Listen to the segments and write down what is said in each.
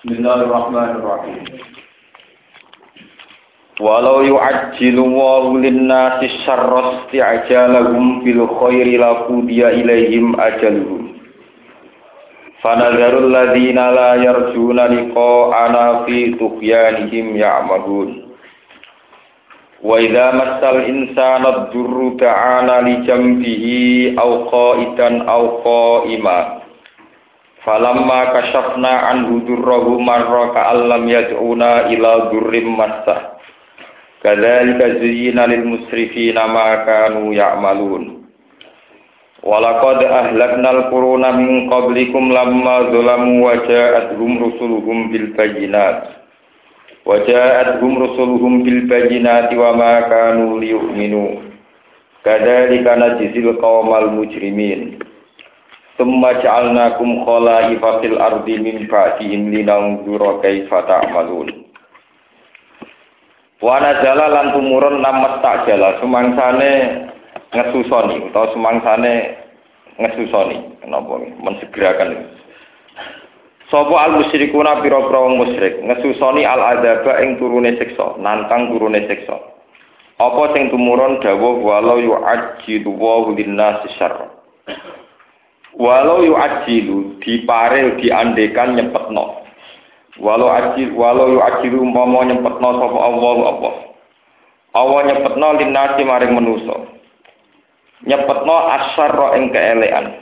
Bismillahirrahmanirrahim. Walau yu'ajjilu Allahu lin-nasi syarra isti'jalahum bil khairi laqudiya ilaihim ajaluhum. Fanadharul ladzina la yarjuna liqa'ana fi tughyanihim ya'mahun. Wa idza massal insana ad-durru ta'ana li jambihi aw qa'idan aw qa'ima. Falamma kashafna anhu durrahu marra ka'allam yad'una ila durrim massah. Kadzalika zuyyina lil musrifina ma kanu ya'malun. Walaqad ahlaknal quruna min qablikum lamma zalamu wa ja'atuhum rusuluhum bil bayyinati wa ma kanu liyu'minu. Kadzalika najzil qaumal mujrimin. Tsumma ja'alnakum khala'ifa fil ardi min ba'dihim linanzura kaifa ta'malun. Wa nazala lan tumurun namat ta'jala sumangsane ngesusoni utawa sumangsane ngesusoni kenapa mensegerakan sapa al musyrikuna pira-pira wong musyrik ngesusoni al adzaba ing turune siksa nantang turune siksa apa sing tumurun dawuh walau yu'ajjilu wa lin-nasi syarra walau yu'ajjilu diparil diandekan nyepetno walau yu'ajjilu umpama nyepetno sapa Allah nyepetno lin-nasi maring manusa nyepetno asyarra ing keelekan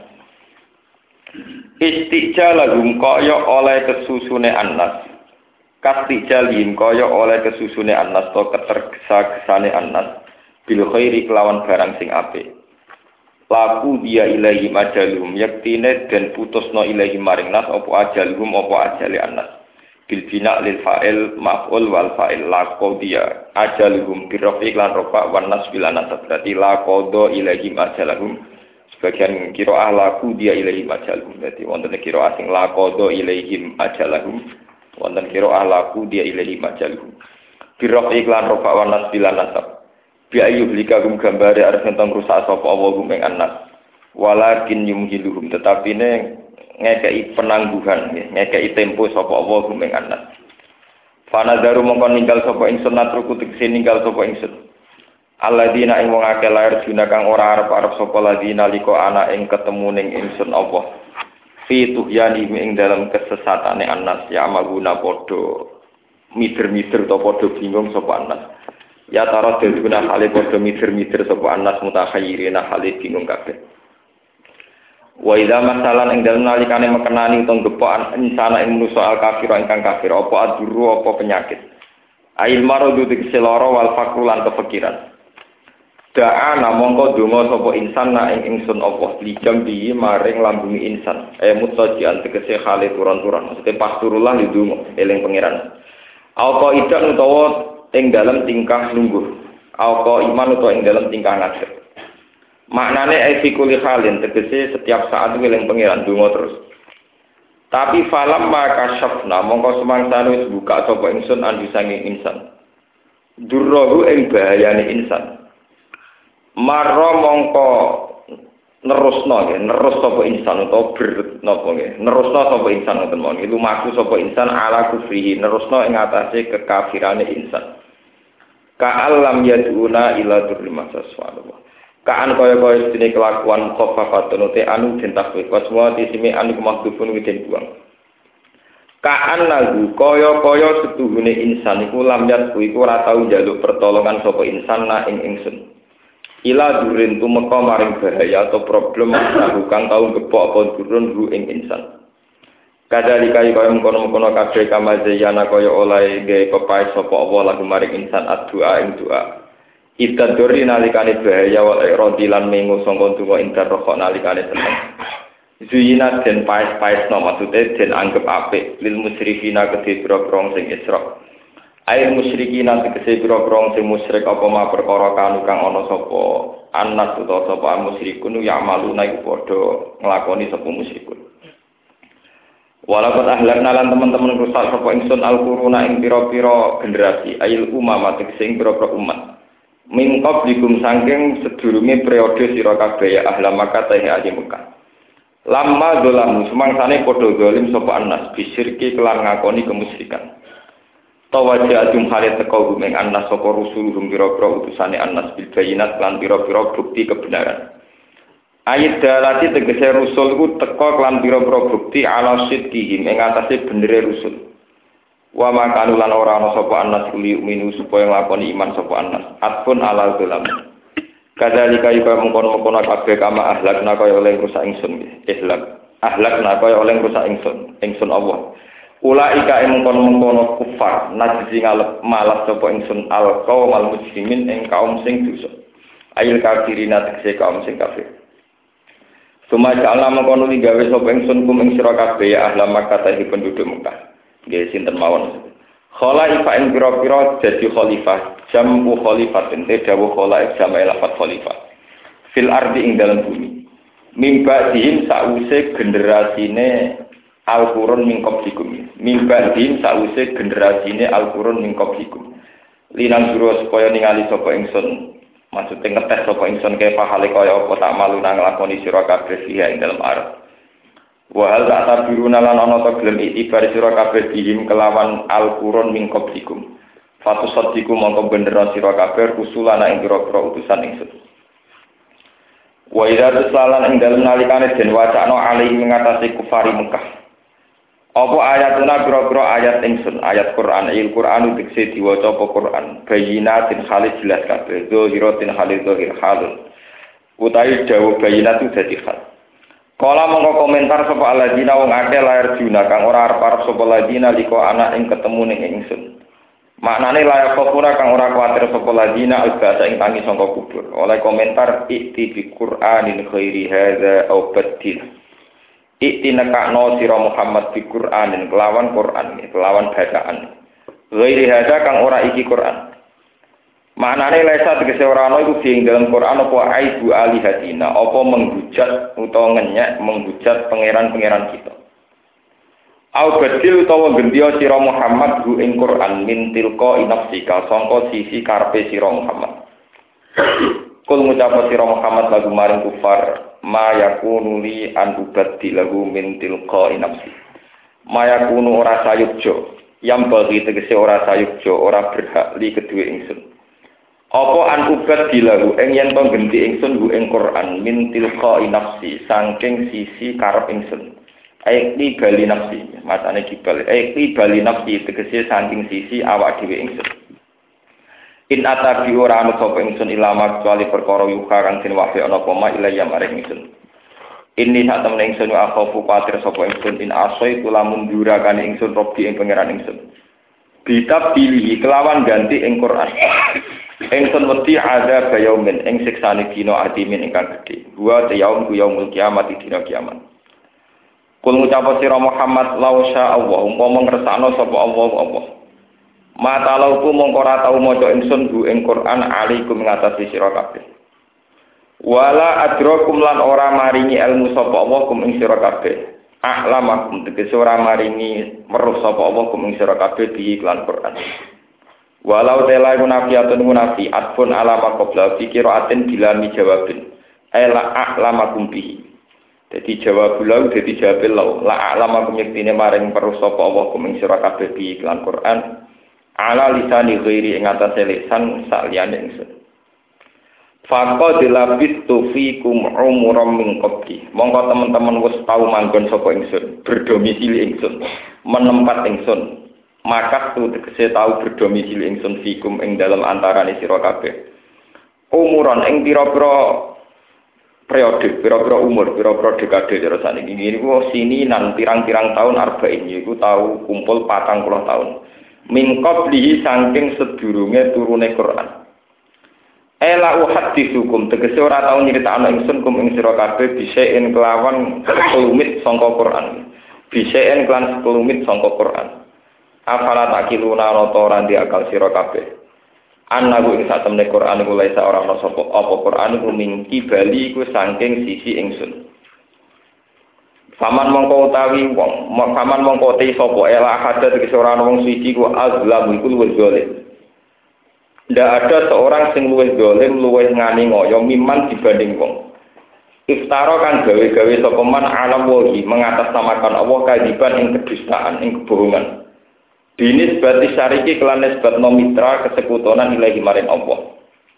istijalahum kaya oleh kesusune annas kastijalihim kaya oleh kesusune annas to ketergesa-gesane annas bil khairi kelawan barang sing apik laku dia ilahi ajalhum yaktine den putusno ilahi maring nas apa ajalhum apa ajale annas bil bina lil fa'il maf'ul wal fa'il laqad dia ajaluhum bi rafi lan rafa wan nas bil anasab berarti laqad ilaihim ajalahum sebagian qiraah laqu dia ilaihim ajalahum berarti wonten qiraah sing laqad ilaihim ajalahum wonten qiraah laqu dia ilaihim ajalahum bi rafi lan rafa wan nas bil anasab bi ayyuh likagum gambare arep tentang rusak sapa Allah ing annas walakin yumhiluhum tetapi ne ngekei penangguhan ngekei tempo sapa Allah gumeng anas fanadaru mongko ninggal sapa ingsun natruku tegese ninggal sapa ingsun alladzina ing wong akeh lair dina kang ora arep-arep sapa ladina liko ana ing ketemu ning ingsun Allah fi tuhyani ing dalam kesesatane anas ya maguna padha mider-mider to padha bingung sapa anas ya tara dene hale padha mider-mider sapa anas mutahayyirina hale bingung kabeh. Wa idza masalan ing dalem nalikane mekenani utawa gepokan insana ing manusa al kafir ingkang kafir apa aduru apa penyakit ail maradu tegese lara wal faqru lan kefikiran da'ana mongko donga sapa insan ing ingsun apa lijam bi maring lambungi insan mutajian tegese khale turun-turun maksude pas turullah ndonga eling pangeran apa idak utawa ing dalem tingkah lungguh apa iman utawa ing dalem tingkah ngadeg maknane fikuli halin tegese setiap saat eling pangeran donga terus tapi falam maka syafna mongko semangsane wis buka sapa ingsun andi sanging insan durrohu ing bahayane insan marra mongko nerusno sapa insan utawa napa nggih nerusno sapa insan ngoten mawon lumaku sapa insan ala kufrihi nerusno ing atase kekafirane insan ka'allam yaduna ila durri masaswa kaan kaya-kaya sedene kelakuan mukhafafatun te anu den takwif waswa tisime anu mahdhufun witen buang kaan lagu kaya-kaya setuhune insan iku lam yat iku ora tau njaluk pertolongan sapa insan na ing ingsun ila durin tumeka maring bahaya atau problem kang tau gepok apa durun ru ing insan kadhalika kaya mengkono-mengkono kabeh kamazayana kaya oleh gawe pepaes sapa Allah lagu maring insan addu'a ing doa Itadori nalikane bahaya wal iradi lan mengo sangka donga intar rokok nalikane seneng. Zuyina den paes-paesno maksude den anggap apik lil musyrikina kedhe boro-boro sing isra. Air musyrikina tegese boro-boro sing musyrik apa ma perkara kanu kang ana sapa anas utawa sapa musyrikun ya maluna iku padha nglakoni sapa musyrikun. Walaupun ahlakna lan teman-teman rusak sapa ingsun al-quruna ing pira-pira generasi ayil umama tegese ing pira-pira umat. Min qablikum saking sedurunge periode sira kabeh ya ahla Makkah ta ahli Mekah. Lamma dzalamu sumangsane padha zalim sapa annas bisirki kelan ngakoni kemusyrikan. Tawajatum hale teko gumeng annas sapa rusuluhum pira-pira utusane annas bil bayinat lan pira-pira bukti kebenaran. Ayat dalati tegese rusul ku teko lan pira-pira bukti ala sidqihim ing atase benere rusul. Wa makanu lan ora ana sapa annas kuli minu supaya nglakoni iman sapa annas. Atpun ala dzalam. Kadzalika yuka mengkono-mengkono kabeh kama ahlakna kaya oleh rusak ingsun Islam. Ahlakna kaya oleh rusak ingsun Allah. Ulaika mengkono-mengkono kufar najzi ngalep malas sapa ingsun al-qaum al-muslimin ing kaum sing dosa. Ayil kafirina tegese kaum sing kafir. Sumaja Allah mengkono digawe sapa ingsun kum ing sira kabeh ya ahla Makkah tahi penduduk Mekah. Nggih sinten mawon. Khalaifa ing pira-pira dadi khalifah, jamu khalifatin dawuh khalaif jamae lafat khalifah. Fil ardi ing dalam bumi. Mimba dihim sause generasine Al-Qur'an min qablikum. Mimba dihim sause generasine Al-Qur'an min qablikum. Linan juro supaya ningali sapa ingsun. Maksude ngetes sapa ingsun kaya pahale kaya apa tak malu nang lakoni sira kabeh ing dalam arep. Wa hal ta'tabiruna lan ana ta gelem itibar sira kabeh dihim kelawan Al-Qur'an min qablikum. Fatu sadiku mongko bener sira kabeh rusulana ing pira-pira utusan ingsun. Wa idza tusalan ing dalem nalikane den wacana alih ngatasi kufari Mekah. Apa ayatuna pira-pira ayat ingsun, ayat Quran, Al-Qur'anu dikse diwaca apa Quran, bayinatin khalid jelas kabeh, zahiratin khalid zahir halun. Utawi dawuh bayinat itu dadi hal. Kala mongko komentar sapa aladina wong akeh lair juna kang ora arep-arep sapa ladina liko anak ing ketemu ning ingsun. Maknane layak kopura kang ora kuwatir sapa ladina albasa ing tangi sangka kubur. Oleh komentar ikti bi Qur'anin khairi hadza au badil. Ikti nekakno sira Muhammad bi Qur'anin kelawan Qur'an, kelawan bacaan. Ghairi hadza kang ora iki Qur'an. Maknane lesa tegese ora ana iku ing dalam Quran apa aibu alihatina, apa menghujat utawa ngenyek menghujat pangeran-pangeran kita. Au badil utawa gendya sira Muhammad hu ing Quran min tilqa nafsika sangka sisi karepe sira Muhammad. Kul ngucap sira Muhammad lagu maring kufar ma yakunu li an ubadilahu min tilqa nafsi. Ma yakunu ora sayukjo, yang bagi tegese ora sayukjo, ora berhak li kedue ingsun. Apa an ubad dilahu ing yen to genti ingsun hu ing Quran min tilqa nafsi saking sisi karep ingsun. Aiki bali nafsi, matane kibal. Aiki bali nafsi tegese saking sisi awak dhewe ingsun. In atabi ora ana sapa ingsun ilama kecuali perkara yuka kang den wahyu ana apa ma ilaya maring ingsun. Ini sak temen ingsun akhofu patir sapa ingsun in asoi kula mundura kan ingsun robi ing pangeran ingsun. Kitab pilih kelawan ganti ing Quran. Ingsun wedi ada bayaumin ing siksane dina adimin ingkang gedhe. Wa yaum ku yaumul kiamat dina kiamat. Kul ngucap sira Muhammad lausya Allah umpama ngersakno sapa Allah. Mata lauku mongko ora tau maca ingsun bu ing Quran alaikum ngatasi sira kabeh. Wala adrakum lan ora maringi ilmu sapa Allah kum ing sira kabeh. A'lamakum tegese ora maringi weruh sapa Allah kum ing sira kabeh di iklan Quran. Walau tela munafiatun munafi atfun alama qabla fikiratin bila mi jawabin ela a'lamakum bihi. Dadi jawab lau dadi jawab lau la a'lamakum yektine maring weruh sapa Allah kum ing sira kabeh di iklan Quran ala lisani ghairi ing atase lisan saliyane ingsun. Faqad labistu fikum umuram min qabli. Monggo teman-teman wis tau manggon sapa ingsun, berdomisili ingsun, menempat ingsun. Maka tu tegese tau berdomisili ingsun fikum ing dalam antarane sira kabeh. Umuran ing pira-pira periode, pira-pira umur, pira-pira dekade terus saniki. Niku sini nan pirang-pirang tahun arba'in iku tau kumpul 40 tahun. Min qablihi saking sedurunge turune Quran. Ela uhadditsukum tegese ora tau nyritakno ingsun kum ing sira kabeh bisaen kelawan sekelumit sangka Quran. Bisaen kelan sekelumit sangka Quran. Afala takiluna rata ora ndi akal sira kabeh. Annahu ing sak temne Quran iku laisa ora ana sapa apa Quran iku mingki bali iku saking sisi ingsun. Faman mongko utawi wong, faman mongko te sapa ela hadza tegese ora ana wong suci ku azlam iku luwih zalim. Ndak ada seorang sing luwih zalim, luwih ngani ngoyo miman dibanding wong. Iftara kan gawe-gawe sapa man ala wahi mengatasnamakan Allah kadiban ing kedustaan, ing kebohongan. Binis berarti syariki kelan nisbat mitra kesekutonan ilahi maring Allah.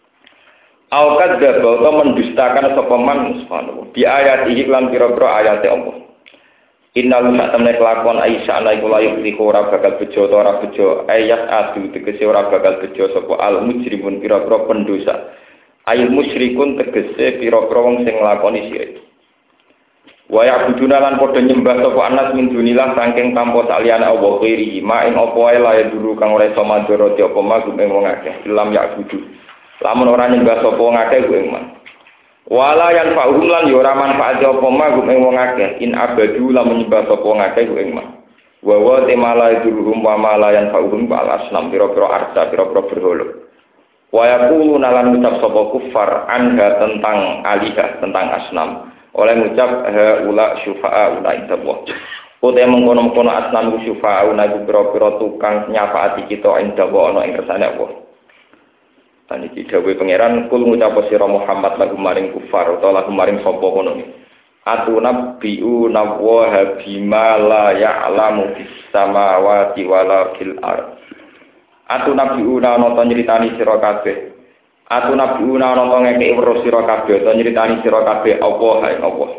Al-kad dzaba mendustakan sapa man subhanahu di ayat iki lan pira-pira ayat Allah. Innal satamne kelakuan Aisyah ana iku layu ora bakal bejo ora bejo ayat adu tegese ora bakal bejo sapa al mujrimun pira-pira pendosa. Ayat musyrikun tegese pira-pira wong sing nglakoni syirik. Wa ya'buduna lan padha nyembah sapa anas min dunillah saking tanpa saliyane Allah kiri ma ing apa wae lae duru kang ora iso mandoroti apa magum ing wong akeh ilam ya'budu. Lamun ora nyembah sapa wong akeh ku ing man. Wala yan fa'hum lan yo ora manfaat apa magum ing wong akeh in abadu lamun nyembah sapa wong akeh ku ing man. Wa wa temala durum wa malayan fa'hum bal asnam pira-pira arsa pira-pira berhala. Wa yaqulu nalan ucap sapa kufar anha tentang alihah tentang asnam oleh ngucap ula syufa'a ula indallah uta mengkono-mengkono asnam syufa'a ula pira-pira tukang nyafaati kita indallah ana ing kersane Allah lan iki dawuh pangeran kul ngucap sira Muhammad lagu maring kufar utawa lagu maring sapa kono atunabbiu nawwa bima la ya'lamu fis samawati wala fil ardh Atunabiuna nonton nyritani sira kabeh. Atunabiuna nonton ngekeki weruh sira kabeh utawa nyritani sira kabeh apa hae Allah.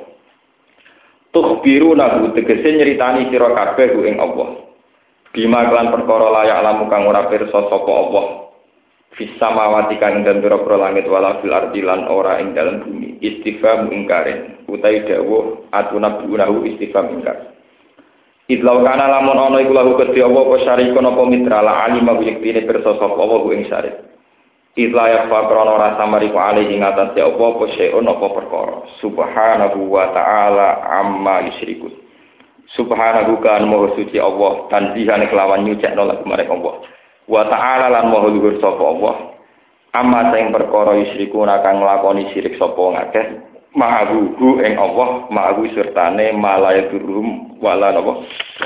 Tukhbiruna tegese nyritani sira kabeh ku ing Allah. Bima kelan perkara layak lamu kang ora pirsa sapa Allah. Fis samawati kang ing pira-pira langit wala fil ardi lan ora ing dalem bumi. Istifham ingkare. Utawi dawuh atunabiuna istifham ingkar. Idlau kana lamun ana iku lahu kedhi apa syarikun apa mitra la alima yektine pirsa sapa apa ku ing syarik. Idla ya fa krana rasa mariku ali ing atas apa syai'un apa perkara. Subhanahu wa ta'ala amma yusyrikun. Subhanahu kan maha suci Allah tanzihane kelawan nyucikno lagu marang Allah. Wa ta'ala lan maha luhur sapa Allah. Amma sing perkara yusyrikun kang nglakoni syirik sapa ngakeh. Ma'ahu ing Allah ma'ahu sertane malaya durum wala napa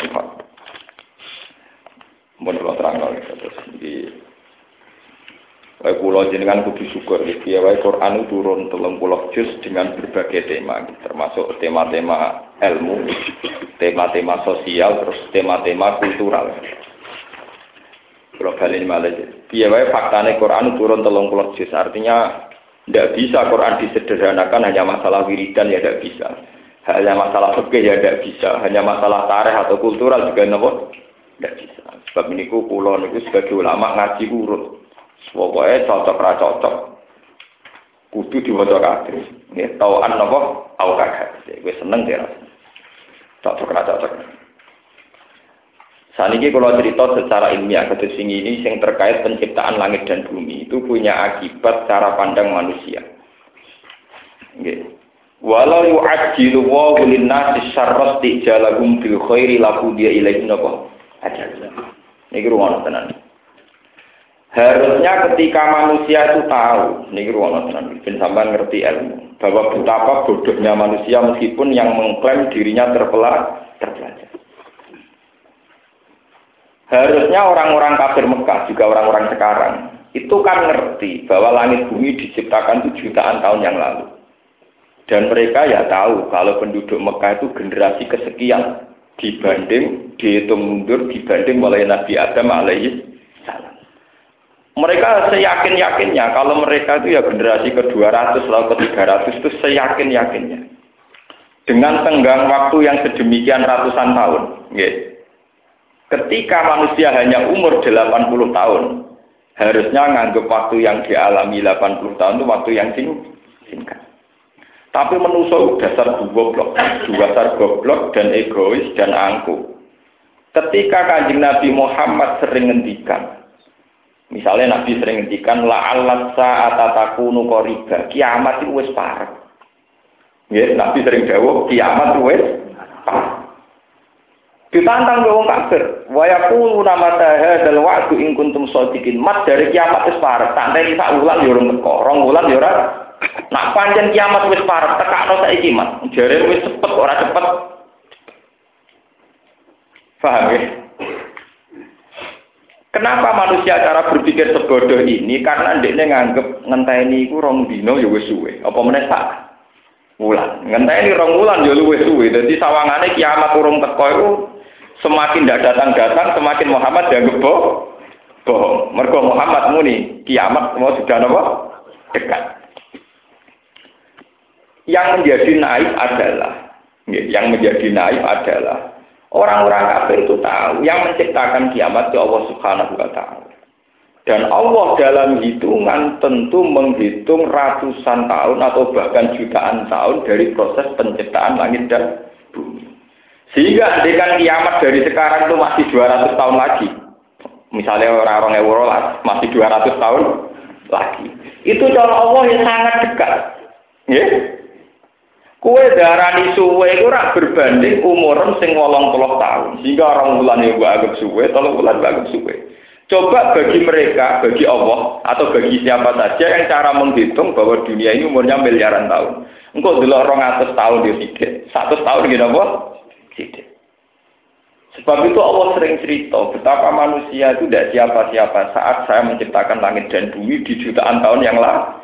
mun kula terangno terus iki wae kula jenengan kudu syukur iki wae Quran turun 30 juz dengan berbagai tema termasuk tema-tema ilmu tema-tema sosial terus tema-tema kultural kula bali malih piye wae faktane Quran turun 30 juz artinya tidak bisa Quran disederhanakan hanya masalah wiridan ya tidak bisa. Hanya masalah fikih ya tidak bisa. Hanya masalah tarikh atau kultural juga tidak bisa. Sebab ini kula niku sebagai ulama ngaji urut. Pokoke cocok ra cocok. Kudu diwaca kabeh. Nggih, tauan napa au kagak. Wis seneng ya. Cocok ra cocok. Saniki kalau cerita secara ilmiah kados sing ini sing terkait penciptaan langit dan bumi itu punya akibat cara pandang manusia. Nggih. Walau yu'ajjilu wa lin-nasi syarra tijalahum bil khairi lahu dia ilaihi napa? Ajal. Niki ruwono tenan. Harusnya ketika manusia itu tahu, niki ruwono tenan, ben sampean ngerti ilmu, bahwa betapa bodohnya manusia meskipun yang mengklaim dirinya terpelajar. Harusnya orang-orang kafir Mekah, juga orang-orang sekarang, itu kan ngerti bahwa langit bumi diciptakan itu jutaan tahun yang lalu. Dan mereka ya tahu kalau penduduk Mekah itu generasi kesekian dibanding, dihitung mundur dibanding mulai Nabi Adam alaihi salam. Mereka seyakin-yakinnya kalau mereka itu ya generasi ke-200 lalu ke-300 itu seyakin-yakinnya. Dengan tenggang waktu yang sedemikian ratusan tahun, gitu. Ketika manusia hanya umur 80 tahun, harusnya nganggap waktu yang dialami 80 tahun itu waktu yang singkat. Tapi manusia dasar goblok dan egois dan angkuh. Ketika Kanjeng Nabi Muhammad sering ngendikan, misalnya Nabi sering ngendikan la'allat sa'ata takunu qariba, kiamat itu wis parek. Nggih, Nabi sering dawuh kiamat wis parek. Ditantang ke wong kafir, wa yaquluna mata hadzal wa'du in kuntum shadiqin. Mat dari kiamat wis parek, santai sak wulan yo ora teko, rong wulan yo ora. Nak pancen kiamat wis parek, tekakno saiki mat. Jare wis cepet ora cepet. Paham ya? Kenapa manusia cara berpikir sebodoh ini? Karena ndekne nganggep ngenteni iku rong dina ya wis suwe. Apa meneh sak wulan. Ngenteni 2 wulan ya luwih suwe. Dadi sawangane kiamat urung teko iku semakin ndak datang-datang semakin Muhammad dianggap bohong. Mergo Muhammad muni kiamat mau sudah napa? Dekat. Yang menjadi naif adalah orang-orang kafir itu tahu yang menciptakan kiamat itu Allah Subhanahu wa taala. Dan Allah dalam hitungan tentu menghitung ratusan tahun atau bahkan jutaan tahun dari proses penciptaan langit dan bumi. Sehingga andekan kiamat dari sekarang itu masih 200 tahun lagi. Misalnya orang-orang Eurolas masih 200 tahun lagi. Itu cara Allah yang sangat dekat. Ya. Kue darani suwe itu rak berbanding umuran sing 80 tahun. Sehingga orang bulan yang anggap suwe, 3 bulan anggap suwe. Coba bagi mereka, bagi Allah, atau bagi siapa saja yang cara menghitung bahwa dunia ini umurnya miliaran tahun. Engkau dulu 200 tahun dia sidik, 100 tahun gitu apa? Sidik. Sebab itu Allah sering cerita betapa manusia itu tidak siapa-siapa saat saya menciptakan langit dan bumi di jutaan tahun yang lalu.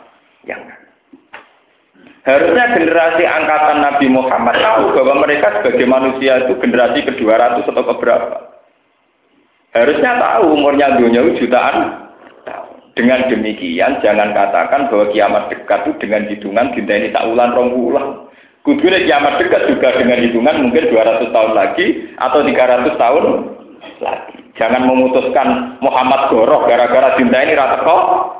Harusnya generasi angkatan Nabi Muhammad tahu bahwa mereka sebagai manusia itu generasi ke-200 atau keberapa. Harusnya tahu umurnya dunia jutaan tahun. Dengan demikian jangan katakan bahwa kiamat dekat itu dengan hitungan dinteni tak ulang 2 bulan. Kudune kiamat dekat juga dengan hitungan mungkin 200 tahun lagi atau 300 tahun lagi. Jangan memutuskan Muhammad goroh gara-gara dinteni ra teko.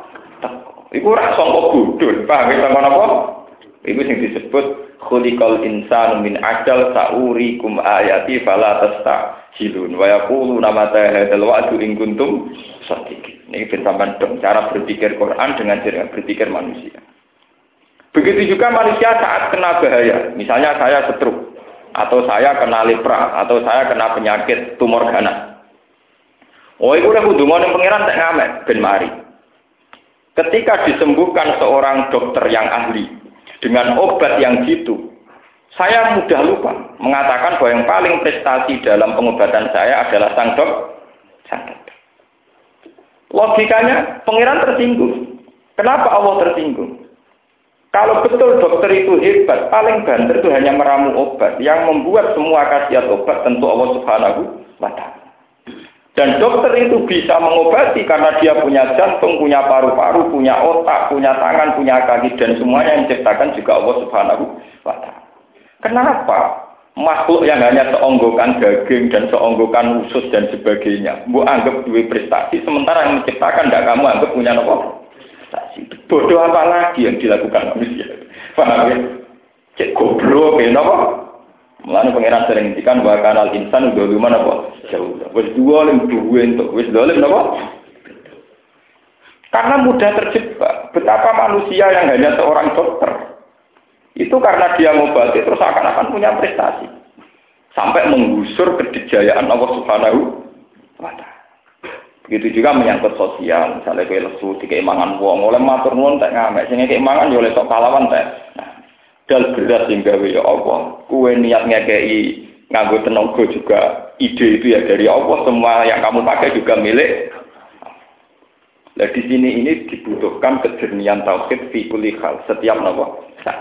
Iku ora sangka bodho, paham ya sampeyan apa? Iku sing disebut khuliqal insanu min ajal saurikum ayati fala tastajilun wa yaquluna mata hadzal wa'du in kuntum shadiqin. Ini sampeyan dong cara berpikir Quran dengan cara berpikir manusia. Begitu juga manusia saat kena bahaya, misalnya saya stroke atau saya kena lepra atau saya kena penyakit tumor ganas. Oh, itu udah hubungan dengan pangeran tak ngamet ben mari. Ketika disembuhkan seorang dokter yang ahli dengan obat yang jitu, saya mudah lupa mengatakan bahwa yang paling prestasi dalam pengobatan saya adalah sang dokter. Logikanya, pangeran tersinggung. Kenapa Allah tersinggung? Kalau betul dokter itu hebat, paling banter itu hanya meramu obat. Yang membuat semua khasiat obat tentu Allah Subhanahu wa ta'ala. Dan dokter itu bisa mengobati karena dia punya jantung, punya paru-paru, punya otak, punya tangan, punya kaki, dan semuanya yang diciptakan juga Allah Subhanahu wa ta'ala. Kenapa makhluk yang hanya seonggokan daging dan seonggokan usus dan sebagainya, bu anggap dua prestasi, sementara yang menciptakan tidak kamu anggap punya apa? Prestasi. Bodoh apa lagi yang dilakukan manusia? Paham ya? Cek goblok ya, apa? Mulane pangeran sering ngendikan wa kanal insan doluman apa? Jauh. Wis dolim duwe entuk, wis dolim napa? Karena mudah terjebak. Betapa manusia yang hanya seorang dokter itu karena dia ngobati terus akan punya prestasi. Sampai menggusur kedijayaan Allah Subhanahu wa ta'ala. Begitu juga menyangkut sosial, misalnya kowe lesu dikeimangan wong, oleh matur nuwun tak ngamek, sing keimangan yo oleh sok pahlawan tak. Nah, dal beras sing gawe ya Allah. Kowe niat ngekei nganggo tenaga juga ide itu ya dari Allah, semua yang kamu pakai juga milik. Nah, di sini ini dibutuhkan kejernihan tauhid fi kulli hal, setiap napa.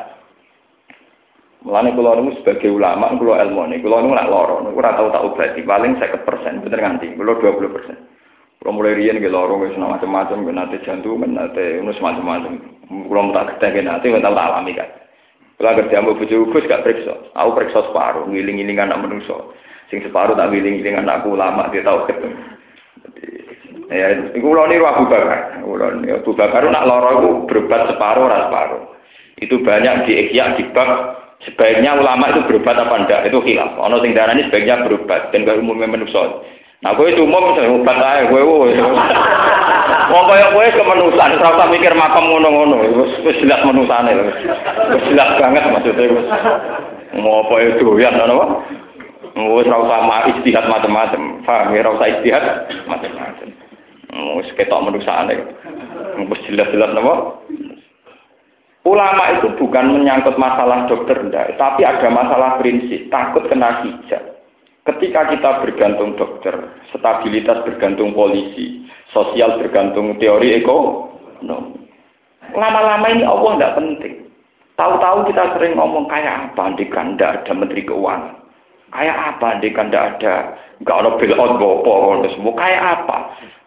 Mulane kula niku sebagai ulama, kula ilmune, kula niku nak lara, niku ora tau tak obati, paling 50%, bener nganti, kula 20%. Kalau mulai rian ke lorong ke macam-macam, ke nanti jantung, ke nanti macam-macam. Kalau tak ketemu nanti, kita tak alami kan. Kalau kerja mau bujuk gak periksa, aku periksa separuh, ngiling-ngiling anak manusia. Sing separuh tak ngiling-ngiling anakku lama dia tahu ketemu. Ya, itu ulah ni Abu Bakar. Abu Bakar nak lorong itu berobat separuh, separuh. Itu banyak di Ihya di bab sebaiknya ulama itu berobat apa enggak itu khilaf. Ono sing darani sebaiknya berobat dan gak umumnya manusia. Nah, kowe umum obat ae kowe. Wong kaya kowe kemenusan, ora usah mikir makam ngono-ngono. Wis jelas menusane. Wis jelas banget maksudnya wis. Ngopo e doyan ngono. Wis ora usah istihad macam-macam. Paham ya, ora usah istihad macam-macam. Wis ketok menusane. Wis jelas-jelas napa? Ulama itu bukan menyangkut masalah dokter ndak, tapi ada masalah prinsip, takut kena hijab. Ketika kita bergantung dokter, stabilitas bergantung polisi, sosial bergantung teori ekonomi. Lama-lama ini Allah tidak penting. Tahu-tahu kita sering ngomong kayak apa andikan ndak ada menteri keuangan. Kayak apa andikan ndak ada enggak ada bailout gopo semua kayak apa.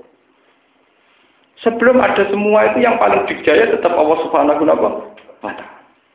Sebelum ada semua itu yang paling dijaya tetap Allah Subhanahu wa taala.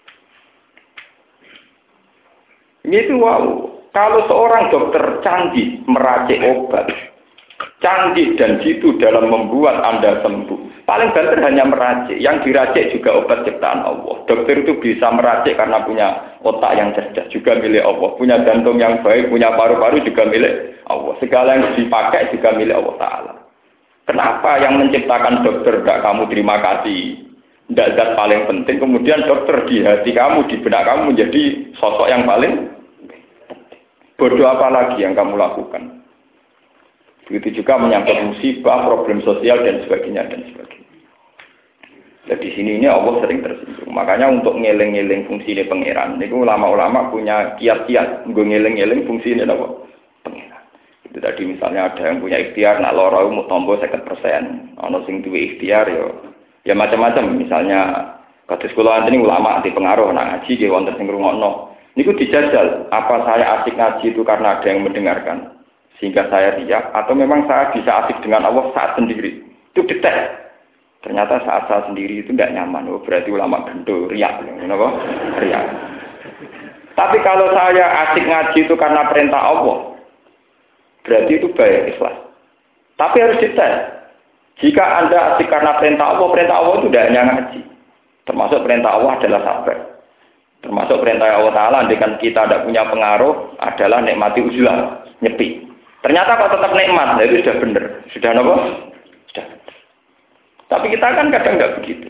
Itu wow. Kalau seorang dokter canggih meracik obat, canggih dan jitu dalam membuat Anda sembuh. Paling banter hanya meracik. Yang diracik juga obat ciptaan Allah. Dokter itu bisa meracik karena punya otak yang cerdas, juga milik Allah. Punya jantung yang baik, punya paru-paru juga milik Allah. Segala yang dipakai juga milik Allah Ta'ala. Kenapa yang menciptakan dokter tidak kamu terima kasih? Tidak zat paling penting. Kemudian dokter di hati kamu, di benak kamu menjadi sosok yang paling bodoh apa lagi yang kamu lakukan? Begitu juga menyangkut musibah, problem sosial dan sebagainya dan sebagainya. Nah, di sini ini Allah sering tersinggung. Makanya untuk ngeling-ngeling fungsi ini pangeran, itu ulama-ulama punya kiat-kiat nggo ngeling-ngeling fungsi ini apa? Pangeran. Itu tadi misalnya ada yang punya ikhtiar nak lara mau tombo 50%. Ana sing duwe ikhtiar ya macam-macam. Misalnya kados kula antene ulama anti pengaruh nak ngaji nggih wonten sing ngrungokno. Niku dijajal, apa saya asik ngaji itu karena ada yang mendengarkan sehingga saya riak, atau memang saya bisa asik dengan Allah saat sendiri. Itu detek. Ternyata saat saya sendiri itu tidak nyaman. Oh, berarti ulama gendul, riak. Kenapa? Riak. Tapi kalau saya asik ngaji itu karena perintah Allah, berarti itu baik, ikhlas. Tapi harus detek. Jika Anda asik karena perintah Allah itu tidak hanya ngaji. Termasuk perintah Allah adalah sabar. Termasuk perintah Allah Ta'ala, dengan kita tidak punya pengaruh, adalah nikmati uzlah, nyepi. Ternyata kok tetap nikmat, itu sudah benar. Sudah apa? Sudah. Tapi kita kan kadang tidak begitu.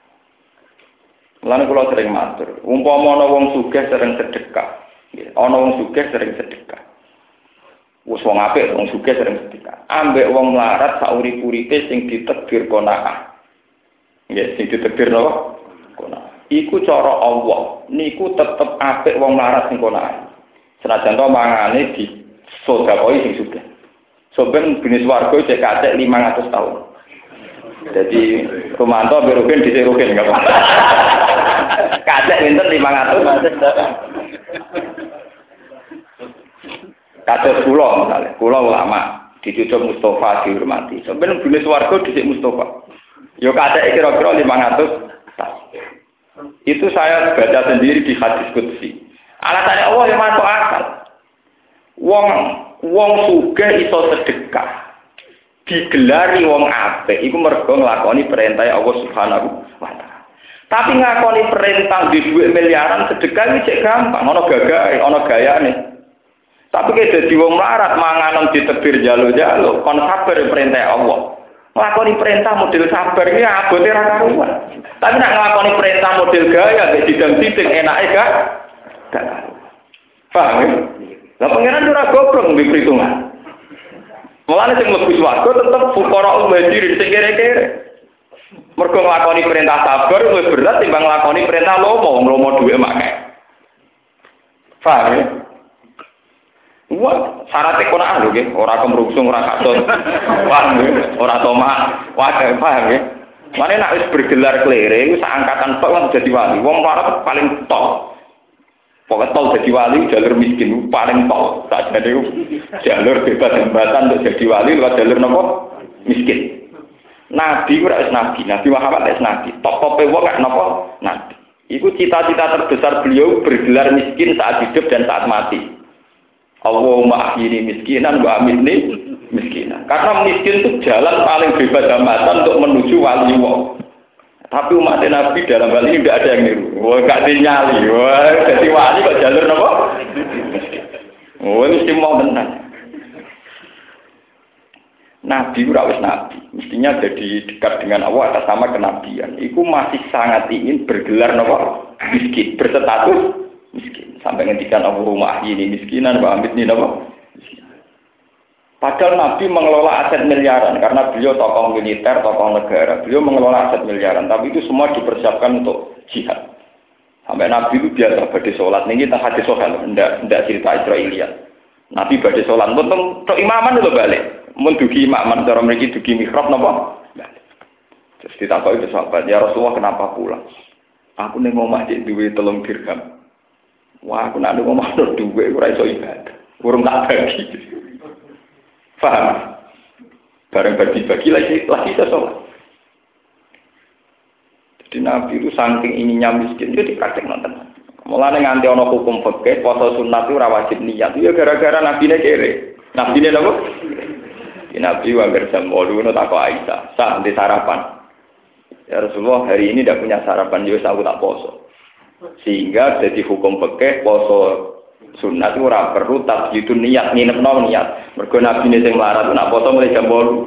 Lalu kalau sering matur, umpama ana wong sugih sering sedekah. Ana wong sugih sering sedekah. Wong apik wong sugih sering sedekah. Ambek wong melarat saurip-uripe sing ditakdir qanaah. Nggih, sing ditakdir napa? Qanaah. Iku cara Allah, niku tetep apik wong larat sing kono. Senajan to mangane di sedekah sing sugih. Soben jenis warga cek kacek 500 tahun. Jadi Romanto berugen di rugen enggak apa. Kacek pinten 500. Kados kula misalnya, kula ulama dicucuk Mustafa dihormati. Soben jenis warga dhisik Mustafa. Yo kacek kira-kira 500 tahun. Itu saya baca sendiri di hadis qudsi. Alasannya Allah yang masuk akal. Wong sugih iso sedekah. Digelari wong apik iku mergo nglakoni perintah Allah Subhanahu wa taala. Tapi ngakoni perintah di dhuwit miliaran sedekah iki cek gampang, ana gagahe, ana gayane. Tapi kayak dadi wong melarat manganan ditebir jalo-jalo, kon sabar perintah Allah. Nglakoni perintah model sabar iki abote ra karuan. Tapi nak nglakoni perintah model gaya nek didang-diding enake gak karuan. Paham ya? Lah pangeran ora goblok mbek perhitungan. Mulane sing mlebu swarga tetep fuqara muhajirin sing kere-kere. Mergo nglakoni perintah sabar luwih berat timbang nglakoni perintah lomo dhuwit makake. Paham ya? Wah, syarat ekonomi lho nggih, ora kemrungsung, ora katut. Wah, ora tomah. Wah, paham ya? Mane nek wis bergelar klere iku sak angkatan tok lan dadi wali. Wong larat paling top. Pokoke tol dadi wali jalur miskin paling top. Tak jane jalur bebas hambatan untuk jadi wali lewat jalur napa? Miskin. Nabi ora wis nabi, Nabi Muhammad wis nabi. Top-tope wong gak napa? Nabi. Iku cita-cita terbesar beliau bergelar miskin saat hidup dan saat mati. Allahumma ahyini miskinan wa amitni miskinan. Karena miskin itu jalan paling bebas hambatan untuk menuju wali Allah. Tapi umat Nabi dalam hal ini tidak ada yang niru. Wah, gak dinyali. Wah, jadi wali kok jalur apa? Miskin. Wah, mesti mau tenang. Nabi ora wis nabi, mestinya jadi dekat dengan Allah atas nama kenabian. Iku masih sangat ingin bergelar napa? Miskin, berstatus miskin. Sampai ngendikan Allahumma ahyini miskinan wa amitni napa? Padahal Nabi mengelola aset miliaran karena beliau tokoh militer, tokoh negara. Beliau mengelola aset miliaran, tapi itu semua dipersiapkan untuk jihad. Sampai Nabi itu biasa badhe salat. Niki teng hadis sahih, ndak cerita Israiliyat. Nabi badhe salat, untuk imaman itu balik. Mun dugi imaman cara mriki dugi mihrab napa? Balik. Terus ditakoki sahabat, "Ya Rasulullah, kenapa pulang?" Aku ning omah dik duwe 3 dirham. Wah, aku nak ning omah duwe ora iso ibadah. Urung tak bagi. Paham? Bareng bagi-bagi lagi iso sholat. Jadi Nabi itu saking ininya miskin, itu dipraktek nonton. Mulane nganti ana hukum fikih, poso sunat itu ora wajib niat. Ya gara-gara nabine kere. Nabine napa? Nabi wangger jam 8 ngono takok Aisyah, "Sah nanti sarapan?" Ya Rasulullah, hari ini tidak punya sarapan, ya aku tak poso. Sehingga jadi hukum fikih poso sunat itu ora perlu tasjidun niat, nginepno niat. Mergo nabine sing melarat nak poso mulai jam 8.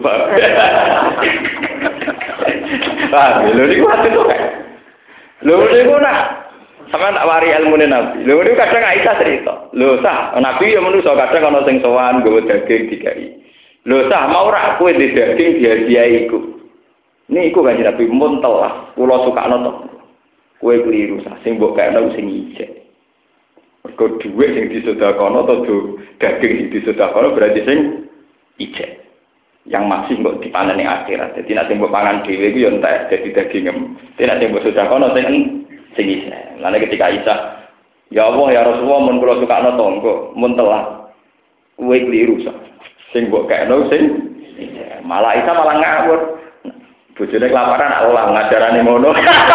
Ah, lho niku ate to kae. Lho niku nak sampeyan tak wari ilmune Nabi. Lho niku kadang Aisyah cerita. Lho sah, Nabi ya manusa kadang ana sing sowan nggawa daging dikai. Lho sah mau ora kowe di daging dihadiahi iku. Niku kan Nabi mun telah kula sukakno to. Kowe keliru sah sing mbok kaekno sing ijek. Mergo dhuwit sing disedekakono to daging sing disedekakono berarti sing ijek. Yang masih mbok dipanen ning akhirat. Dadi nek sing mbok pangan dhewe iku ya entek dadi daging. Nek sing mbok sedekakono sing ijek. Lan ketika Isa, ya Allah ya Rasulullah mun kula sukakno to engko mun telah kowe keliru sah. Sing mbok kaekno sing malah Isa malah ngawur. Bojone kelaparan aku lah ngajarane ngono.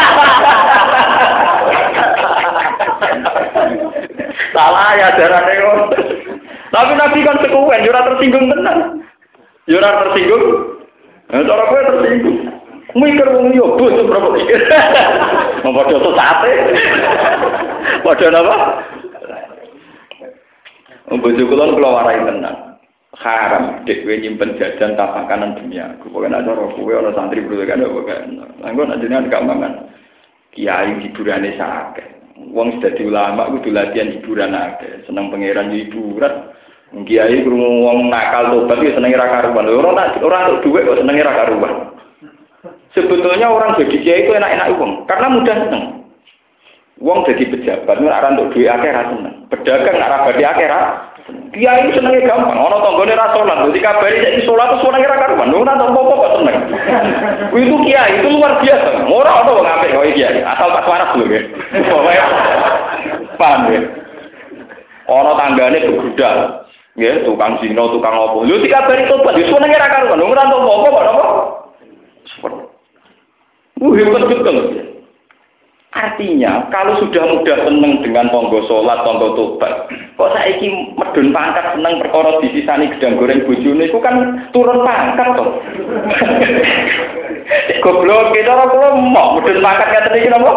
Salah ya ajarane ngono. Tapi Nabi kan sekuwen yo ora tersinggung tenan. Yo ora tersinggung. Cara kowe tersinggung. Mikir wong yo bos berapa mikir. Padha sate. Padha napa? Bojo kula warai tenan. Haram dhewe nyimpen jajan tak makanan dunia. Pokoke nek cara kowe ana santri bro kan pokoke. Langgo nek jenengan gak mangan kiai hiburane sakit. Wong dadi ulama kudu latihan hiburan akeh. Seneng pangeran hiburan. Kiai krungu wong nakal tobat ya senenge ra karuan. Ora untuk dhuwit kok senenge ra karuan. Sebetulnya orang jadi kiai itu enak-enak wong karena mudah seneng. Wong jadi pejabat nek untuk dhuwit akeh ra seneng. Pedagang nek ra badhe akeh ra kiai senenge gampang, ana tanggane ra salat, dadi kabari saiki salat terus senenge ra karuan. Ora tak apa-apa kok seneng. Itu kiai itu luar biasa. Ora ana wong apik kok kiai, asal tak waras lho nggih. Pokoke paham ya. Ana tanggane begudal. Nggih, tukang zina, tukang opo. Lho dikabari tobat, wis senenge ra karuan. Ora tak apa-apa kok napa? Hebat betul. Artinya, kalau sudah mudah seneng dengan tonggo sholat, tonggo tobat, kok saiki medun pangkat seneng perkara disisani gedang goreng bojone iku kan turun pangkat to. Goblok kita ora kula mok medun pangkat ngaten iki napa?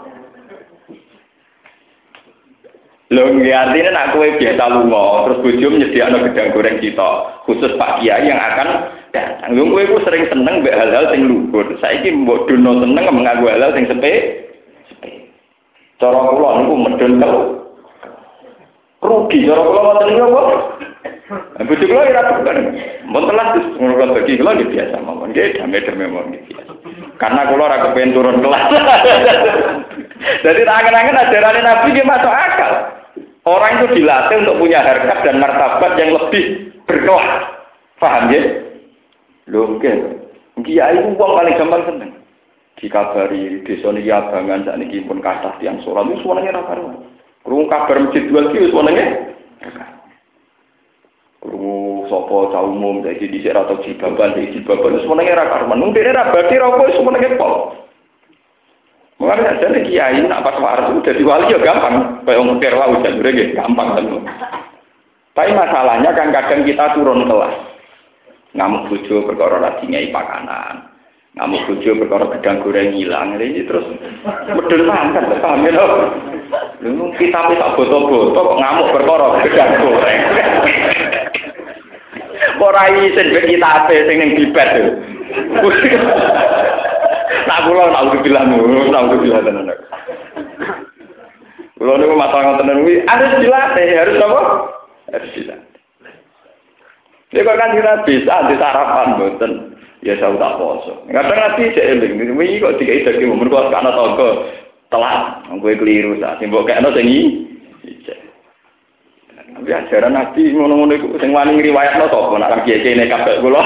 Lho nggih artine nek kowe biasa lunga, terus bojomu nyediakno gedang goreng kita, khusus Pak Kiai yang akan datang. Lho kowe iku sering seneng mbek hal-hal sing luhur. Saiki mbok dono seneng nganggo hal-hal sing sepele. Cara kula niku medun telu. Rugi cara kula ngoten niku apa? Bojo kula ora tekan. Mun telas ngono bagi kula nggih biasa mawon. Nggih damai-damai mawon nggih biasa. Karena kula ora kepen turun kelas. Jadi angen-angen ajaran Nabi nggih masuk akal. Orang itu dilatih untuk punya harkat dan martabat yang lebih berkelas. Paham ya? Lho nggih. Kiai wong paling gampang seneng. Dikabari desa niki abangan sakniki pun kathah tiyang salat wis wenenge ra karuan. Krungu kabar masjid dua iki wis wenenge. Krungu sapa cah umum dadi dhisik ra tau jibaban iki jibaban wis wenenge ra karuan. Mung dene ra badhe ra wis wenenge pol. Mulane jane kiai nak pas waras dadi wali ya gampang. Kayak wong kira wae jane nggih gampang kan. Tapi masalahnya kan kadang kita turun kelas. Ngamuk bojo perkara ra dinyai pakanan. Ngamuk bojo perkara gedang goreng hilang ini terus medun pangkat paham ya lho. Lu kita tak boto-boto kok ngamuk perkara gedang goreng. Ora isin ben kita ape sing ning bibet lho. Nak kula nak bilang tenan. Kula niku masalah ngoten niku harus dilatih, harus apa? Harus dilatih. Nek kan dira bisa di sarapan mboten. Ya saya tak poso. Kadang nanti saya eling, ini kok dikai daging umur kok ana tonggo telat, kowe keliru sak simbok kene sing iki. Tapi ajaran Nabi ngono-ngono iku sing wani ngriwayatno sapa nek kiye-kiye nekat kula.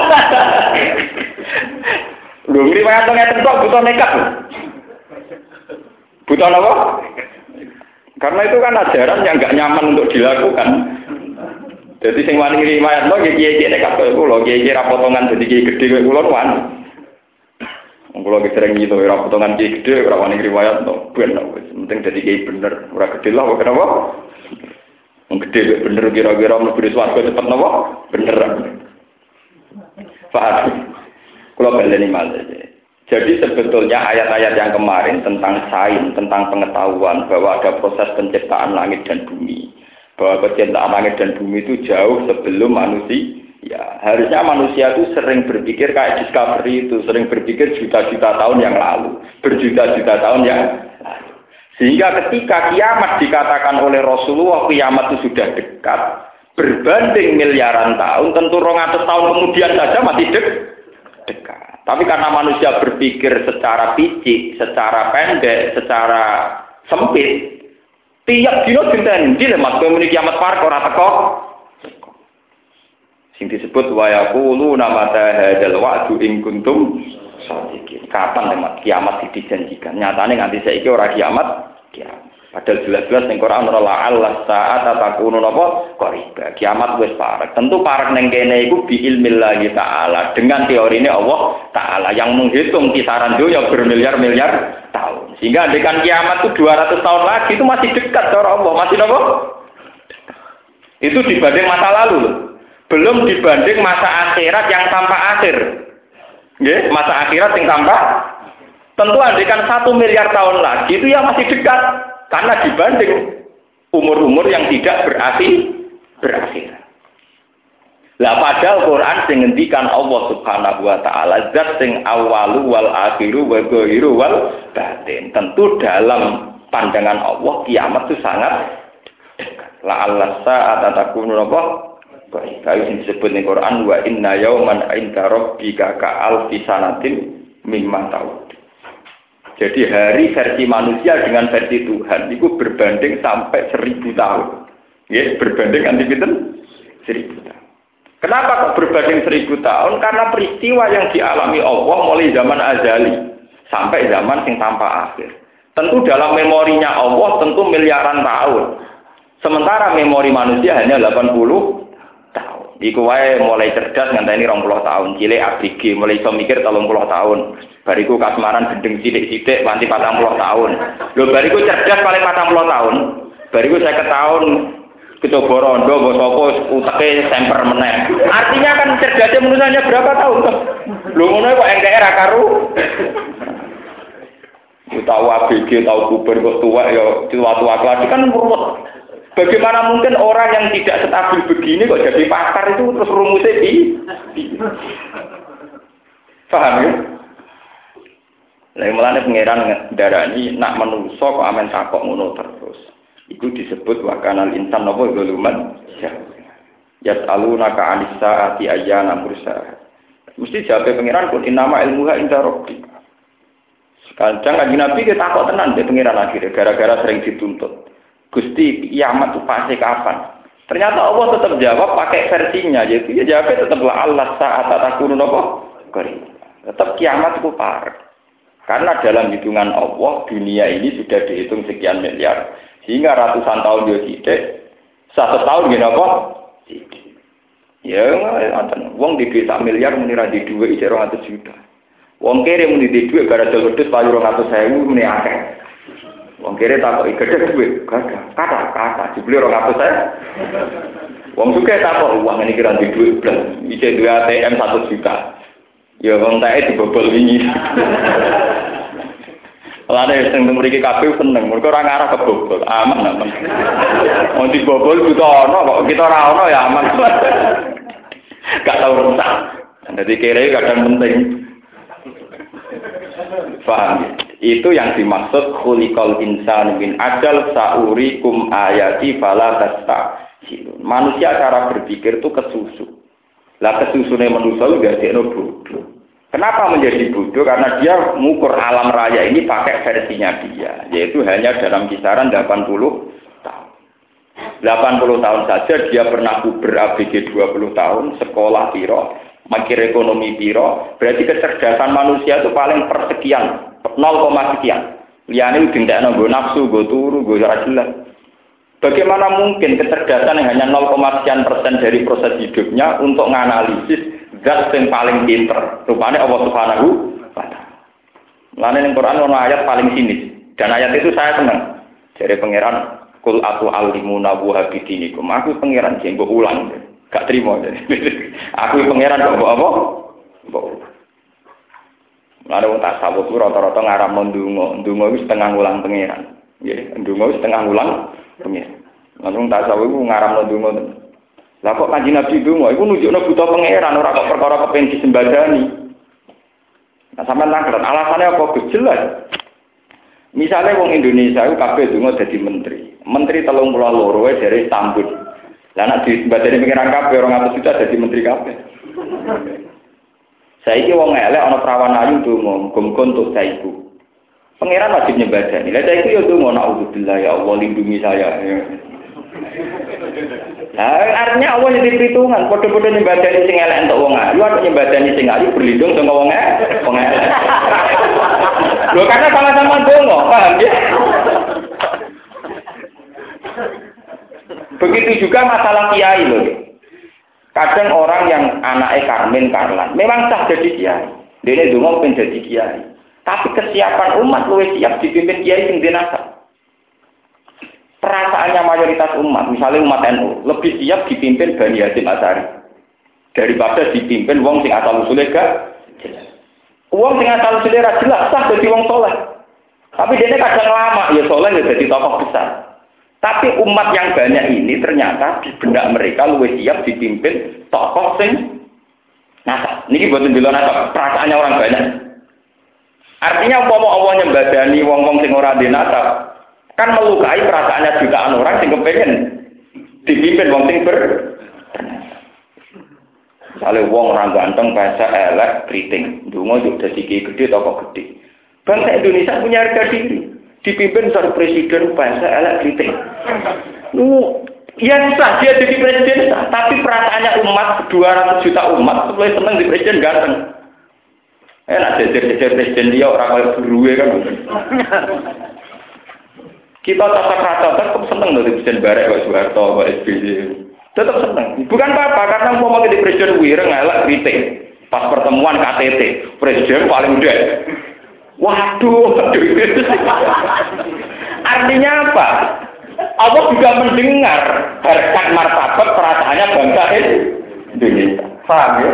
Lho ngriwayatno ngeten kok butuh nekat. Buta apa? Karena itu kan ajaran yang nggak nyaman untuk dilakukan. Jadi sing wani riwayat lho kiye-kiye nek kabeh kula kiye-kiye ra potongan dadi kiye gedhe kowe kula wani. Kula ki sering gitu ra potongan kiye gedhe ora wani riwayat to. Ben wis penting dadi kiye bener, ora gedhe lah kok kenapa? Wong gedhe bener kira-kira mlebu swarga cepet napa? Bener. Paham? Kula baleni malih. Jadi sebetulnya ayat-ayat yang kemarin tentang sains, tentang pengetahuan bahwa ada proses penciptaan langit dan bumi. Bahwa penciptaan langit dan bumi itu jauh sebelum manusia. Ya, harusnya manusia itu sering berpikir kayak Discovery itu, sering berpikir juta-juta tahun yang lalu, berjuta-juta tahun yang lalu. Sehingga ketika kiamat dikatakan oleh Rasulullah, kiamat itu sudah dekat, berbanding miliaran tahun, tentu 200 tahun kemudian saja masih dekat. Tapi karena manusia berpikir secara picik, secara pendek, secara sempit, tiap dino dinten ndi Mas kowe muni kiamat parek ora teko. Sing disebut wa yaquluna mata hadzal wa'du in kuntum shadiqin. Kapan Mas kiamat dijanjikan? Nyatane nganti saiki ora kiamat. Padahal jelas-jelas ning Quran ora Allah saat takunu napa qariba. Kiamat wis parek. Tentu parek ning kene iku bi ilmillahi taala dengan teorine Allah taala yang menghitung kisaran dunia bermiliar-miliar tahun. Sehingga andekan kiamat itu 200 tahun lagi itu masih dekat cara Allah, masih napa? Itu dibanding masa lalu. Belum dibanding masa akhirat yang tanpa akhir. Nggih, masa akhirat yang tanpa tentu andekan 1 miliar tahun lagi itu ya masih dekat. Karena dibanding umur-umur yang tidak berakhir. Lah padahal Quran sing ngendikan Allah Subhanahu wa taala zat sing awalu wal akhiru wa dhahiru wal batin. Tentu dalam pandangan Allah kiamat itu sangat dekat. La Allah saat takunu apa? Kayu sing disebut ning Quran wa inna yauman 'inda rabbika ka alfi sanatin mimma ta'ud. Jadi hari versi manusia dengan versi Tuhan itu berbanding sampai 1000 tahun. Ya, berbanding anti pinten 1000 tahun. Kenapa kok berbanding 1000 tahun? Karena peristiwa yang dialami Allah mulai zaman azali sampai zaman yang tanpa akhir. Tentu dalam memorinya Allah tentu miliaran tahun. Sementara memori manusia hanya 80 tahun. Iku wae mulai cerdas ngenteni 20 tahun, cilik ABG mulai iso mikir 30 tahun. Bariku kasmaran gendeng sithik-sithik nganti 40 tahun. Lho bariku cerdas paling 40 tahun. Bariku 50 tahun kecoba rondo mbok sapa uteke semper meneh. Artinya kan cerdasnya manusianya berapa tahun toh? Lho ngono kok engke ra karu. Tahu ABG tahu kuber kok tua ya tua-tua lagi kan ruwet. Bagaimana mungkin orang yang tidak stabil begini kok jadi pakar itu terus rumusnya di paham ya? Lalu mulanya pengeran darani nak menungso kok amen takok ngono terus. Itu disebut wakanal insan nopo zuluman. Yas'alunaka 'anis sa'ati ayyana mursaha. Mesti jawab pengeran pun innama ilmuha inda rabbik. Kadang kanjeng Nabi kita takok tenan de pengeran akhirnya gara-gara sering dituntut. Gusti kiamat itu pasti kapan? Ternyata Allah tetap jawab pakai versinya, yaitu ya jawabnya tetaplah Allah saat takunu nopo qarib. Tetap kiamat itu parek. Karena dalam hitungan Allah dunia ini sudah dihitung sekian miliar, sehingga ratusan tahun dia tidak, 1 tahun gini apa? Ya, wong di desa miliar menira di 2 200 juta. Wong kere muni di 2 gara-gara wedhus payu 200.000 muni akeh. Wong kere takok gede duwe, kata dibeli 200.000. Wong suke takok uang ini kira di duwe blas, iki duwe ATM 1 juta. Ya wong tae dibobol wingi. Lane sing mriki kabeh seneng, mergo ora ngarah kebobol, aman. Wong dibobol buta ana kok kita ora ana ya aman. Gak tau rusak. Dadi kere kadang penting. Paham? Itu yang dimaksud khuliqal insanu min ajal saurikum ayati fala tasta'jilun. Manusia cara berpikir itu kesusu. Lah kesusune manusia juga dadekno bodoh. Kenapa menjadi bodoh? Karena dia mengukur alam raya ini pakai versinya dia, yaitu hanya dalam kisaran 80 tahun. 80 tahun saja dia pernah kuber ABG 20 tahun, sekolah piro, mikir ekonomi piro, berarti kecerdasan manusia itu paling persekian. 0, sekian. Liyane dintekno nggo nafsu, nggo turu, nggo ora jelas. Bagaimana mungkin kecerdasan yang hanya 0,sekian% dari proses hidupnya untuk menganalisis zat yang paling pinter? Rupanya Allah Subhanahu wa Ta'ala. Lalu di Quran ada ayat paling sinis. Dan ayat itu saya senang. Dari pangeran, Kul atu alimuna buhabidinikum. Aku pangeran, yang gue ulang. Gak terima. Aku pangeran, kok apa? Lalu tak sabut itu rata-rata ngaram ndonga. Ndonga itu setengah ulang pangeran. Ndonga itu setengah ulang pangeran. Lalu tak sabut itu ngaram ndonga. Lah kok Kanjeng Nabi ndonga iku nunjukno buta pangeran ora kok perkara kepen disembadani. Nah sampean langkran alasannya apa jelas. Misalnya wong Indonesia itu kabeh ndonga dadi menteri. Menteri 32 wae dari Istanbul. Lah nek disembadani pangeran kabeh 200 juta dadi menteri kabeh. Saiki wong elek ana prawan ayu ndonga muga-muga untuk saiku. Pangeran wajib nyembadani. Lah saiki yo ndonga naudzubillah ya Allah lindungi saya. Nah, artinya Allah jadi perhitungan. Podo-podo nyembadani sing elek entuk wong ayu, atau nyembadani sing ayu berlindung sama wong elek. Lho karena sama-sama ndonga, paham ya? Begitu juga masalah kiai loh. Kadang orang yang anaknya Karlan, memang sah jadi kiai. Dia ndonga pengen jadi kiai. Tapi kesiapan umat luwih siap dipimpin kiai sing dinasab. Perasaannya mayoritas umat, misalnya umat NU, lebih siap dipimpin Bani Hasyim Asy'ari daripada dipimpin wong sing asal usulnya gak jelas. Wong sing asal usulnya jelas sah jadi wong soleh. Tapi dia kadang lama ya soleh ya jadi tokoh besar. Tapi umat yang banyak ini ternyata di benak mereka lebih siap dipimpin tokoh sing nasab. Niki boten bila nasab, perasaannya orang banyak. Artinya umpama Allah nyembadani wong-wong sing ora ndek nasab, kan melukai perasaannya jutaan orang sing kepengen dipimpin wong sing misalnya wong orang ganteng bahasa elek kriting ndonga yo dadi gede toko gede. Bangsa Indonesia punya harga diri, dipimpin seorang presiden bahasa elek kriting. Ya sah dia jadi presiden sah, tapi perasaannya umat 200 juta umat mulai seneng di presiden ganteng. Enak jejer presiden dia orang kaya buruwe kan. Kita tata tetap seneng dari presiden barek Pak Soeharto, Pak SBY. Tetap seneng. Bukan apa-apa karena mau jadi presiden wireng elek kritik. Pas pertemuan KTT, presiden paling udah. Waduh. Artinya apa? Allah juga mendengar harkat martabat perasaannya bangsa Indonesia. Paham ya?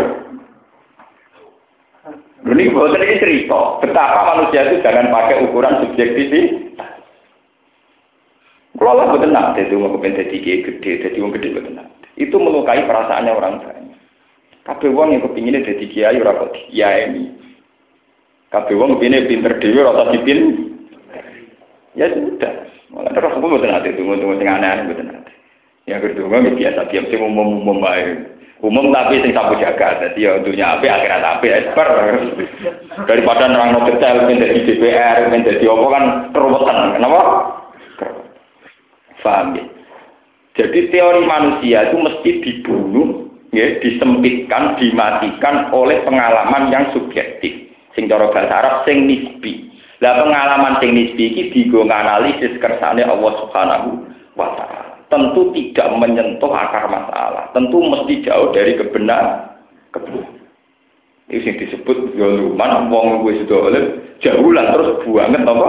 Ini bukan ini cerita. Betapa manusia itu jangan pakai ukuran subjektivitas. Kalau Allah betul nak, itu mau kepen jadi gede, jadi wong gede betul nak. Itu melukai perasaannya orang banyak. Kabeh wong yang kepinginnya jadi kiai ora kok kiai ini. Kabeh wong kepinginnya pinter dhewe ora dipin. Ya sudah. Malah terus aku betul nak itu tunggu sing aneh-aneh betul nak. Yang kedua biasa diam sing umum bae. Umum tapi sing sapu jaga. Dadi ya dunya apik akhirat apik esper. Daripada nerangno detail men dadi DPR, men dadi apa kan keruwetan. Kenapa? Paham ya? Jadi teori manusia itu mesti dibunuh, ya, disempitkan, dimatikan oleh pengalaman yang subjektif. Sing cara bahasa Arab sing nisbi. Lah pengalaman sing nisbi iki digo nganalisis kersane Allah Subhanahu wa Ta'ala. Tentu tidak menyentuh akar masalah. Tentu mesti jauh dari kebenaran. Itu yang disebut zaluman wong wis dolen jaulan terus buanget apa?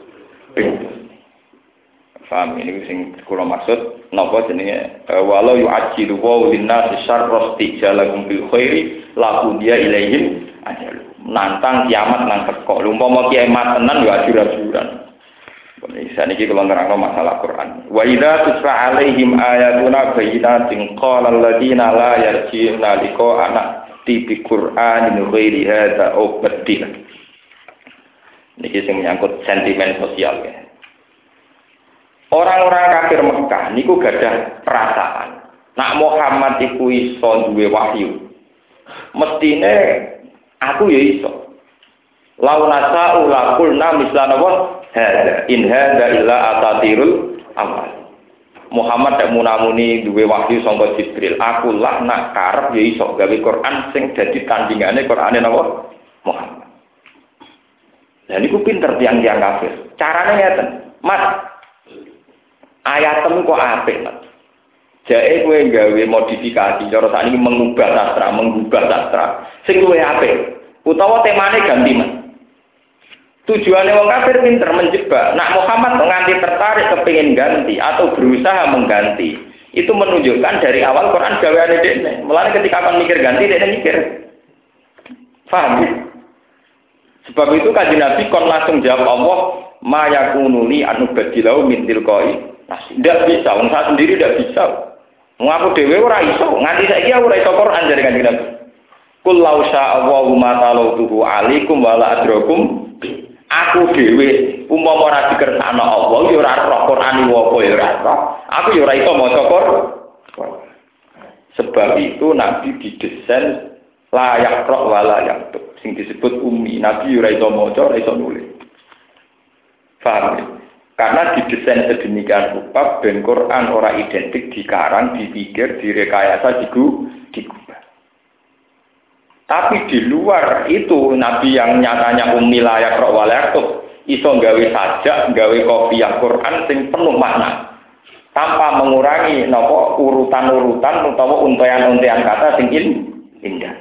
Paham ini sing kula maksud napa jenenge walau yu'ajjilu wa linnasi syarra istijalahum bil khairi laku dia ilaihim ajal nantang kiamat nang teko umpama kiamat tenan yo ajur-ajuran bisa niki kula nerangno masalah Quran wa idza tusra alaihim ayatuna bayyinatin qala alladziina la yarji'una liqa'ana tibi Qur'anin ghairi hadza aw badil niki sing menyangkut sentimen sosial ya. Orang-orang kafir Mekah niku gadah perasaan. Nak Muhammad iku iso duwe wahyu. Mestine aku ya iso. Launasa ulaqulna mislana wa hada in hada illa asatirul awal. Muhammad tak munamuni duwe wahyu sangka Jibril. Aku lah nak karep ya iso gawe Quran sing dadi tandingane Qurane napa? Muhammad. Lah niku pinter tiang-tiang kafir. Carane ngeten, Mas. Ayatem kok apik, Mas. Jae kowe gawe modifikasi cara sakniki mengubah sastra. Sing luwih apik. Utawa temane ganti, Mas. Tujuannya wong kafir pinter menjebak. Nak Muhammad nganti tertarik kepingin ganti atau berusaha mengganti. Itu menunjukkan dari awal Quran gaweane dekne. Mulane ketika akan mikir ganti dekne mikir. Paham ya? Sebab itu Kanjeng Nabi kon langsung jawab Allah, "Ma yakunu li an ubadilau min tilqai." Nah, tidak bisa, wong saya sendiri tidak bisa. Wong aku dhewe ora iso, nganti saiki aku ora iso Quran dari Kanjeng Nabi. Qul law syaa Allahu ma talautuhu alaikum wa la adrakum. Aku dhewe umpama ora dikersakno Allah ya ora roh Quran apa ya ora roh. Aku ya ora iso maca Quran. Sebab itu Nabi didesain layak roh wala yaktub. Sing disebut ummi, Nabi ora iso maca, ora iso nulis. Paham ya? Karena didesain sedemikian rupa ben Quran ora identik dikarang, dipikir, direkayasa, digubah. Tapi di luar itu Nabi yang nyatanya ummi layak roh wala yaktub iso gawe sajak, gawe kopiah Quran sing penuh makna. Tanpa mengurangi napa urutan-urutan utawa untayan-untayan kata sing indah.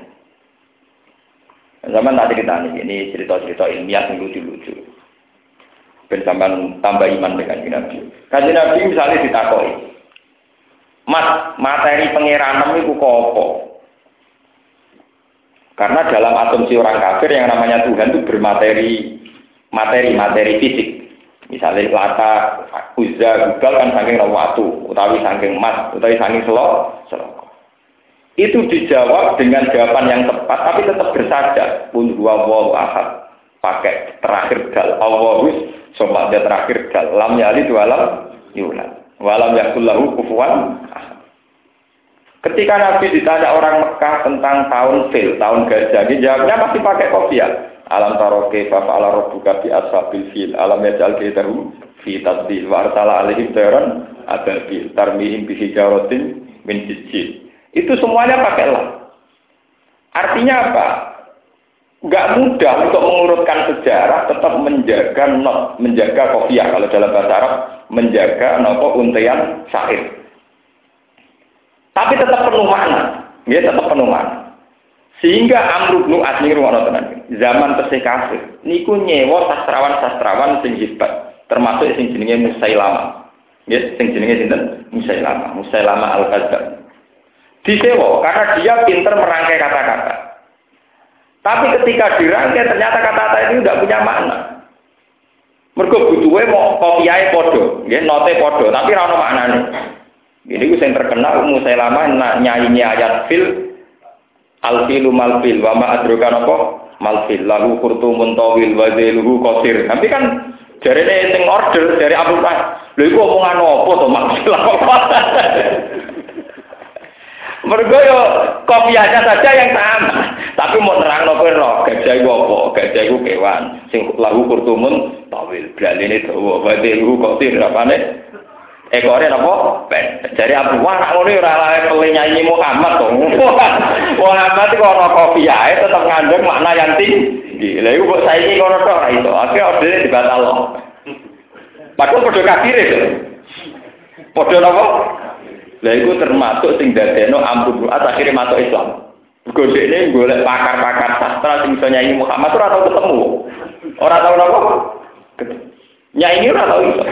Zaman tadi kita ini cerita-cerita ilmiah yang lucu-lucu. Bersamaan tambah iman dengan Nabi. Kanjeng Nabi misalnya ditakoi, Mas, materi pengiranan itu apa? Karena dalam asumsi orang kafir yang namanya Tuhan itu bermateri fisik. Misalnya Lata, Uzza, Gubal kan saking waktu, utawi saking emas, utawi saking selok. Itu dijawab dengan jawaban yang tepat, tapi tetap bersajak. Qul huwallahu ahad. Pakai terakhir dal. Allahus, sobat dia terakhir dal. Lam yalid walam yulad. Walam yakul lahu kufuwan ahad. Ketika Nabi ditanya orang Mekah tentang tahun fil, tahun gajah, dia jawabnya masih pakai kopiah. Alam taroke fa'ala rabbuka bi ashabil fil. Alam yaj'al kaidahu fi tadlil wa arsala alaihim tayran ababil tarmihim bi hijaratin min sijil. Itu semuanya pakai lam. Artinya apa? Enggak mudah untuk mengurutkan sejarah, tetap menjaga not, menjaga kopiah kalau dalam bahasa Arab, menjaga nopo untayan syair. Tapi tetap penuh makna, ya tetap penuh makna. Sehingga Amr bin As niku ana tenan. Zaman tesih kafir, niku nyewa sastrawan-sastrawan sing hebat, termasuk sing jenenge Musailamah. Ya, sing jenenge sinten? Musailamah Al-Kadzdzab. Disewa karena dia pintar merangkai kata-kata. Tapi ketika dirangkai ternyata kata-kata itu tidak punya makna. Mergo butuhe mau kopiahe padha, nggih note padha, tapi ora ono maknane. Ini ku sing terkenal Musailamah nyanyi ayat fil al-filu mal-fil wa ma adraka napa mal-fil lahu qurtumun tawil wa zailuhu qasir. Tapi kan jarene sing order dari Abu Bakar. Lha iku omongan apa to maksud apa? Mergo yo kopiahnya saja yang sama, tapi mau nerangno kowe ro, gajah iku apa? Gajah iku kewan sing lahu kurtumun tawil, blaline dawa, wadilu qasir apane? Ekore napa? Ben. Jare Abu Wah nak ngono ora lae pele nyanyi Muhammad to. Muhammad iku ana kopiahe tetep ngandung makna yang tinggi. Lha iku kok saiki ngono tok ora iso. Akhire ordene dibatalno. Padahal padha kafir itu. Padha napa? Lah iku termasuk sing dadekno Amr bin As akhire masuk Islam. Godhekne golek pakar-pakar sastra sing iso nyanyi Muhammad ora tau ketemu. Ora tau napa? Nyanyi ora tau iso.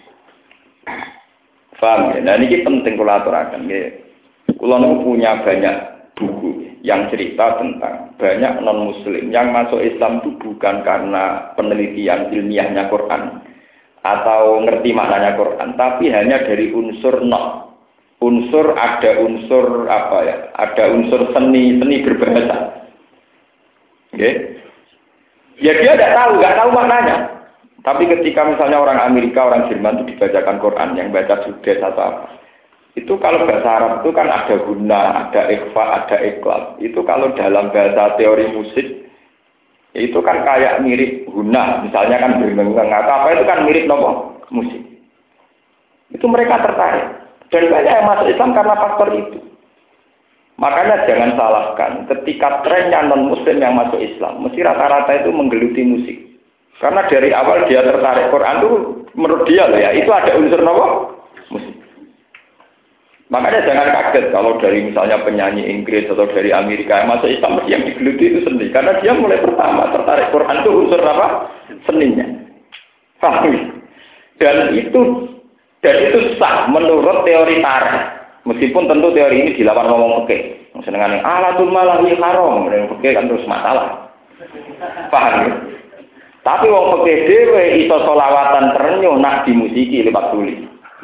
Paham ya? Nah ini penting kula aturaken nggih. Kula niku punya banyak buku yang cerita tentang banyak non muslim yang masuk Islam itu bukan karena penelitian ilmiahnya Quran atau ngerti maknanya Quran, tapi hanya dari unsur ada unsur apa ya? Ada unsur seni berbahasa. Nggih. Ya dia nggak tahu maknanya. Tapi ketika misalnya orang Amerika, orang Jerman itu dibacakan Quran, yang baca Judes atau apa, itu kalau bahasa Arab itu kan ada guna, ada ikhfa, ada ikhlas. Itu kalau dalam bahasa teori musik, itu kan kayak mirip guna, misalnya kan berengeng atau apa itu kan mirip nopo musik. Itu mereka tertarik. Dan banyak yang masuk Islam karena faktor itu. Makanya jangan salahkan, ketika trennya non-muslim yang masuk Islam, mesti rata-rata itu menggeluti musik. Karena dari awal dia tertarik Quran itu menurut dia loh ya, itu ada unsur apa? Musik. Makanya jangan kaget kalau dari misalnya penyanyi Inggris atau dari Amerika yang masuk Islam yang digeluti itu seni. Karena dia mulai pertama tertarik Quran itu unsur apa? Seninya. Paham? Dan itu sah menurut teori tarikh. Meskipun tentu teori ini dilawan ngomong fikih. Senengane alatul malahi haram, fikih kan terus masalah. Paham ya? Tapi wong fikih dhewe iso selawatan terenyuh nak dimusiki lewat tuli.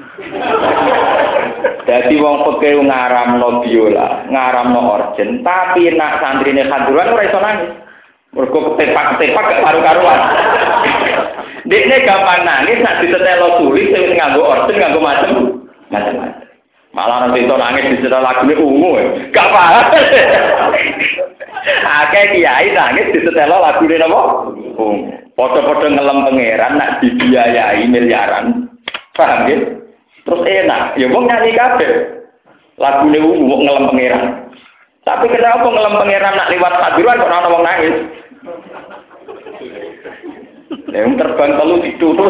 Dadi wong fikih ngaramno biola, ngaramno organ, tapi nak santrine khaduran ora iso nangis. Mergo ketepak-ketepak gak karu-karuan. Dekne gampang nangis nak ditetelo tuli sing nganggo organ nganggo macam-macam. Malah nanti itu nangis disetel lagune ungu, gak paham. Akeh kiai nangis disetel lagune napa? Ungu. Padha-padha ngelem pangeran nak dibiayai miliaran. Paham ya? Terus enak, ya wong nyanyi kabeh. Lagune ungu ngelem pangeran. Tapi kenapa ngelem pangeran nak liwat hadiran kok ana wong nangis? Yang terbang telu ditutup.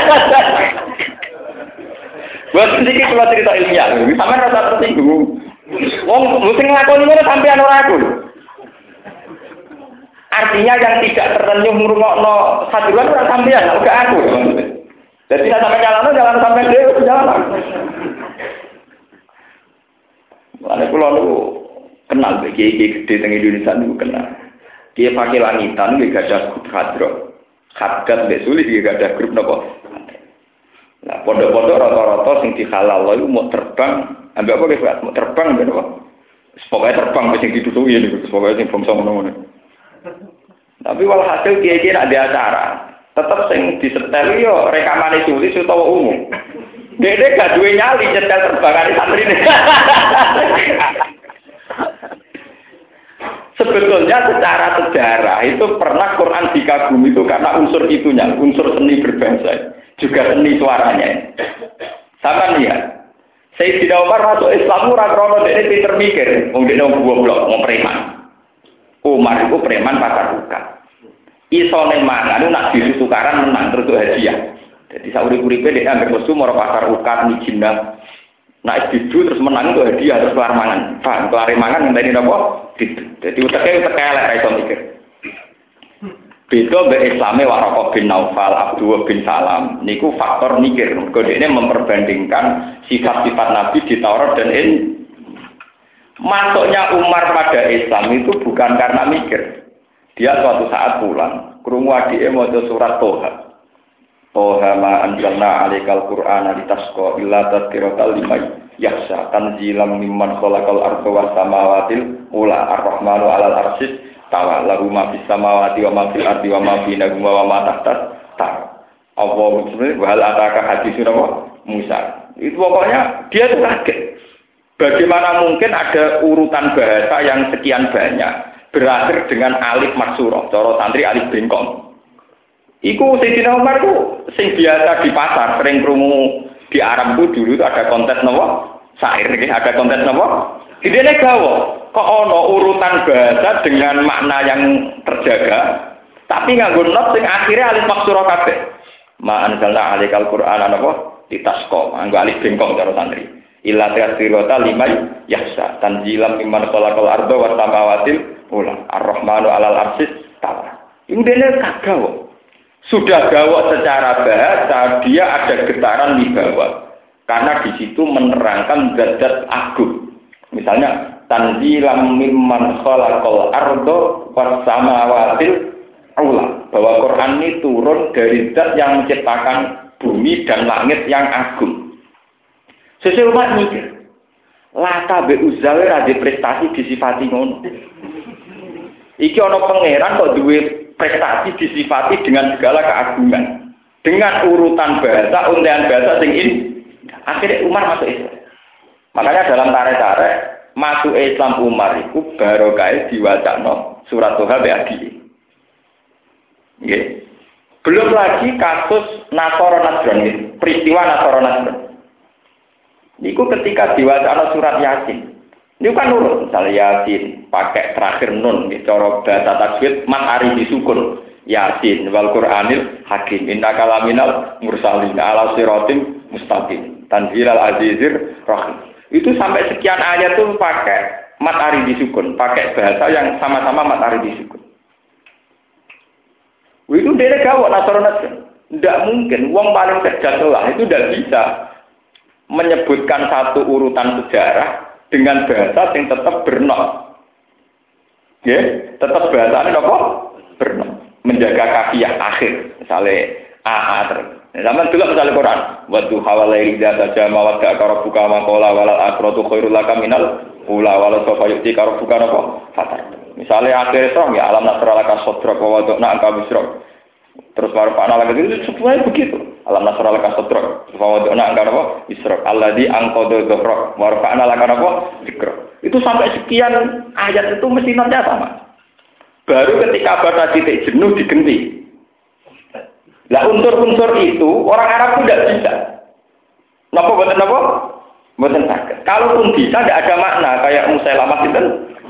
Buat sedikit kalau cerita ilmiah, sampai rasa tersinggung. Wong mesti ngelakoni ngono sampean ora aku. Artinya yang tidak tertenyuh ngrungokno hadiran ora sampean, ora aku. Jadi nek sampean jalan sampai dhewe jalan. Lah kula niku kenal kiai-kiai gede teng Indonesia niku kenal. Kiai Fakih Langitan nggih gadah grup hadro. Khadat mbek sulit nggih gadah grup napa? Nah, pondok-pondok rata-rata sing dihalal lho mau terbang, ambek apa guys, mau terbang ben apa? Pokoke terbang sing ditutuki niku, pokoke sing bangsa ngono-ngono. Tapi walhasil kiai-kiai nek ada acara, tetep sing disetel yo rekamane tulis utawa umum. Dene gak duwe nyali nyetel terbangane santrine. Sebetulnya secara sejarah itu pernah Quran dikagumi itu karena unsur itunya, unsur seni berbahasa. Juga seni suaranya. Sama nih ya. Sayyidina Umar masuk Islam ora krono dene pinter mikir, wong dene wong goblok, wong preman. Umar itu preman pasar buka. Isone mangan nak ditukaran menang terus hadiah. Jadi sauri-uripe dhek ambek musuh moro pasar buka mijinah. Nak didu terus menang itu hadiah terus kelar mangan. Paham, kelar mangan ngenteni napa? Jadi uteke elek ra iso mikir. Beda mbek Islame Waraqah bin Naufal, Abdullah bin Salam. Niku faktor mikir. Kodene memperbandingkan sifat-sifat Nabi di Taurat dan masuknya Umar pada Islam itu bukan karena mikir. Dia suatu saat pulang, krungu adike maca surat Toha. Toha ma anzalna 'alaikal Qur'ana litasqa illa tadhkiratal liman yakhsha tanzilam mimman khalaqal arda was samawati ula ar-rahmanu 'alal arsyis tawa lahu ma fis samawati wa ma fil ardi wa ma bainahuma wa ma tahtas ta. Allahu subhanahu wa ta'ala ataka hadisun Musa. Itu pokoknya dia itu kaget. Bagaimana mungkin ada urutan bahasa yang sekian banyak berakhir dengan alif maksurah, cara santri alif bengkong. Iku Sayyidina Umar itu sing biasa di pasar, sering krungu di Arab itu dulu itu ada kontes napa? Syair iki, ada kontes napa? Idene gawa. Kok ono urutan bahasa dengan makna yang terjaga, tapi nganggo not sing akhirnya alif maksurah kabeh. Ma anzalna 'alaikal Qur'ana napa? Litasqa, nganggo alif bengkong cara santri. Illa tasirata limay yahsa tanzilam mimman khalaqal arda was samawati ula ar-rahmanu 'alal arsyis tawa. Iku dene kagawa. Sudah gawok secara bahasa, dia ada getaran di bawah. Karena di situ menerangkan zat agung. Misalnya tanzilam mimman khalaqal arda was samawati ula. Bahwa Quran ini turun dari zat yang menciptakan bumi dan langit yang agung. Sesuai umat mikir, Lata be Uzzawe ada prestasi disifati ngono. Iki ana pangeran kok duwe prestasi disifati dengan segala keagungan. Dengan urutan bahasa, untean bahasa sing ini. Akhirnya Umar masuk Islam. Makanya dalam tarik-tarik masuk Islam Umar itu barokah diwacana surat Toha be adi. Nggih. Belum lagi kasus Nasara Najran, peristiwa Nasara Najran. Niku ketika diwacana surat Yasin. Niku kan nurut, misalnya Yasin pakai terakhir nun, cara bahasa tajwid mat ari disukun. Yasin wal Qur'anil Hakim. Innaka laminal mursalin ala siratim mustaqim. Tanzilal azizir rahim. Itu sampai sekian ayat tuh pakai mat aridi sukun, pakai bahasa yang sama-sama mat aridi sukun. Itu dia gawat Nasrani. Tidak mungkin, wong paling cerdas lah itu tidak bisa menyebutkan satu urutan sejarah dengan bahasa yang tetap bernot. Ya, tetap bahasanya apa? Bernot. Menjaga kafiyah akhir. Misalnya AA terus. Zaman dulu misalnya Quran, wa duha wa laili idza tajama wa ka rabbuka ma qala wal akhiratu khairul laka minal ula wal sawfa yu'ti ka rabbuka apa fatar. Misalnya akhir Isra ya alam nasralaka sadrak wa wada'na anka bisrak. Terus warfa'na laka itu semuanya begitu. Alam nasralaka sadrak wa wada'na anka apa bisrak. Alladzi anqadha dhahrak warfa'na laka apa dzikra. Itu sampai sekian ayat itu mesti notnya sama. Baru ketika batas titik jenuh diganti. Lah unsur-unsur itu orang Arab itu tidak bisa. Napa boten napa? Boten saged. Kalaupun bisa tidak ada makna kayak Musailamah itu.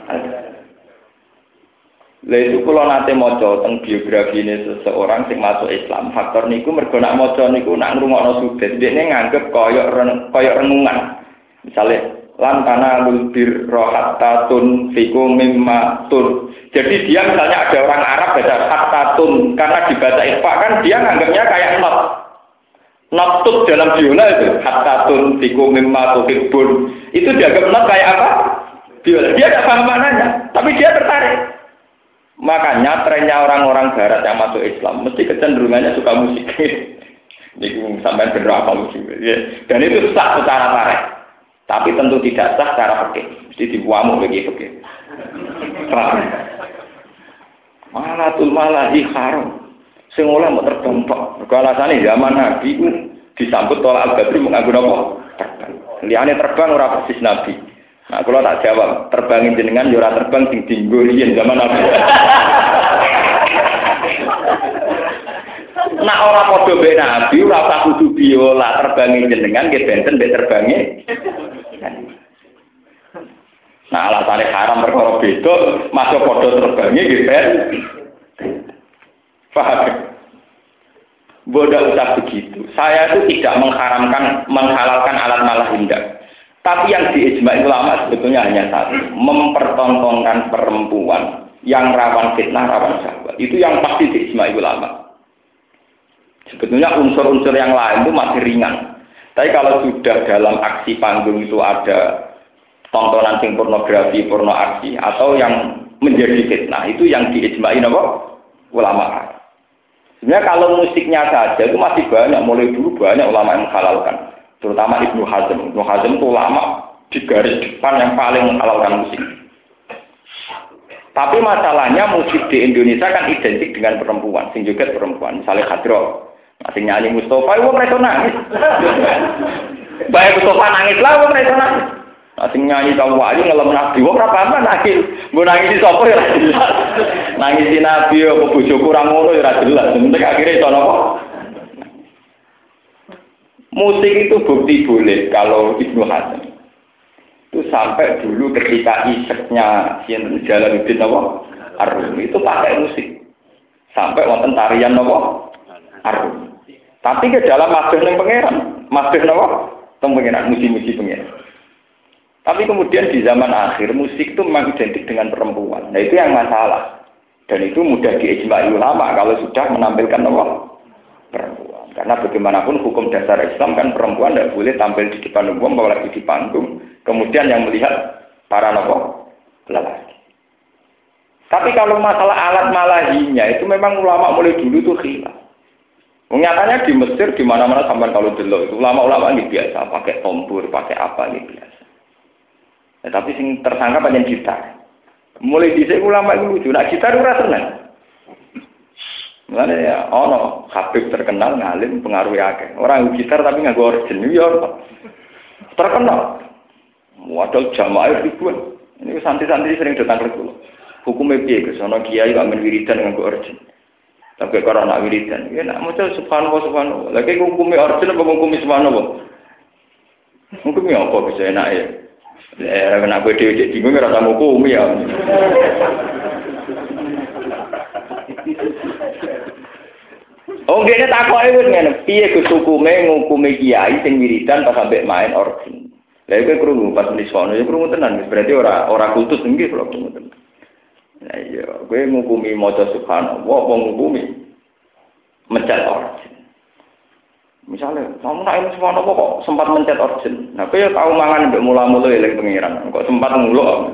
Lah itu kula nate maca teng biografi ini seseorang sing masuk Islam. Faktor niku mergo nak maca niku nak ngrungokno sudet, dekne nganggep kaya renungan. Misale lantana lulbir rohatatun fikum mimma tun. Jadi dia misalnya ada orang Arab baca hatatun karena dibaca ikhfa kan dia nganggapnya kayak not tut dalam biola itu hatatun fikum mimma tuhibbun. Itu dianggap not kayak apa? Biola. Dia tidak paham maknanya, tapi dia tertarik. Makanya trennya orang-orang Barat yang masuk Islam mesti kecenderungannya suka musik. Ini sampai bener apa musik. Dan itu sah secara tarik. Tapi tentu tidak sah secara fikih. Mesti dibuamu bagi fikih. Malatul malahi haram. Sing oleh mau terbang tok. Alasane zaman Nabi ku disambut tolak al-Badri menganggo napa? Terbang. Liyane terbang ora persis Nabi. Nah, kalau tak jawab, terbangin jenengan yo ora terbang sing dienggo riyen zaman Nabi. Nak ora padha mbek Nabi, ora usah kudu biola terbangin jenengan nggih benten mbek terbange. Nah, alasannya haram perkara beda, masuk padha terbange nggih ben. Paham? Bodoh usah begitu. Saya itu tidak menghalalkan alat malah indah. Tapi yang diijma ulama sebetulnya hanya satu, mempertontonkan perempuan yang rawan fitnah, rawan syahwat. Itu yang pasti diijma ulama. Sebetulnya unsur-unsur yang lain itu masih ringan. Tapi kalau sudah dalam aksi panggung itu ada tontonan sing pornografi, porno aksi atau yang menjadi fitnah, itu yang diijmain apa? Ulama. Sebenarnya kalau musiknya saja itu masih banyak, mulai dulu banyak ulama yang menghalalkan. Terutama Ibnu Hazm. Ibnu Hazm itu ulama di garis depan yang paling menghalalkan musik. Tapi masalahnya musik di Indonesia kan identik dengan perempuan, sing joget perempuan. Misalnya Khadro, sing nyanyi Mustafa, wong mereka nangis. Baik Mustafa nangis lah, wong mereka nangis. Sing nyanyi kamu wali ngelem Nabi, wong ora paham nangis. Mbok nangis sapa ya ora jelas. Nangis si Nabi apa bojoku ora ngono ya ora jelas. Penting akhirnya iso napa? Musik itu bukti boleh kalau Ibnu Hazm. Itu sampai dulu ketika iseknya Sinten Jalaluddin Ar-Rumi itu pakai musik. Sampai wonten tarian Ar-Rumi. Tapi ke dalam masbih ning pangeran, masbih teng pangeran muji-muji pangeran. Tapi kemudian di zaman akhir musik itu memang identik dengan perempuan. Nah itu yang masalah. Dan itu mudah diijma'i ulama kalau sudah menampilkan perempuan. Karena bagaimanapun hukum dasar Islam kan perempuan tidak boleh tampil di depan umum apalagi di panggung. Kemudian yang melihat para lelaki. Tapi kalau masalah alat malahinya itu memang ulama mulai dulu itu khilaf. Nyatanya di Mesir di mana-mana sampai kalau dulu itu ulama-ulama ini biasa pakai tombur, pakai apa ini biasa. Ya, tapi sing tersangka banyak gitar. Mulai dhisik ulama itu lucu, nak gitar ora seneng. Mulane ya ono Habib terkenal ngalim pengaruh akeh. Orang gitar tapi nganggo organ ya terkenal. Modal jamaah ribuan. Ini santri-santri sering datang ke kula. Hukumnya piye ke sono kiai kok men wiridan nganggo organ. Tapi kalau nak wiridan, ya nak maca subhanallah. Lagi hukumnya organ apa hukumnya subhanallah? Hukumnya apa bisa enak ya? Nak kowe dhewe bingung ora tau hukum ya. Oh, ngene takoke wis ngene, piye Gus ngukumi kiai sing wiridan pas sampe main organ. Lah iku krungu pas nisono ya krungu tenan, berarti ora kultus nggih kula krungu tenan. Nah iya, kowe ngukumi maca subhanallah, apa ngukumi mencet organ. Misalnya, kamu nak ilmu subhanallah kok sempat mencet organ. Nah, kowe ya tau mangan mbek mula-mula eling pengiran, kok sempat nguluk.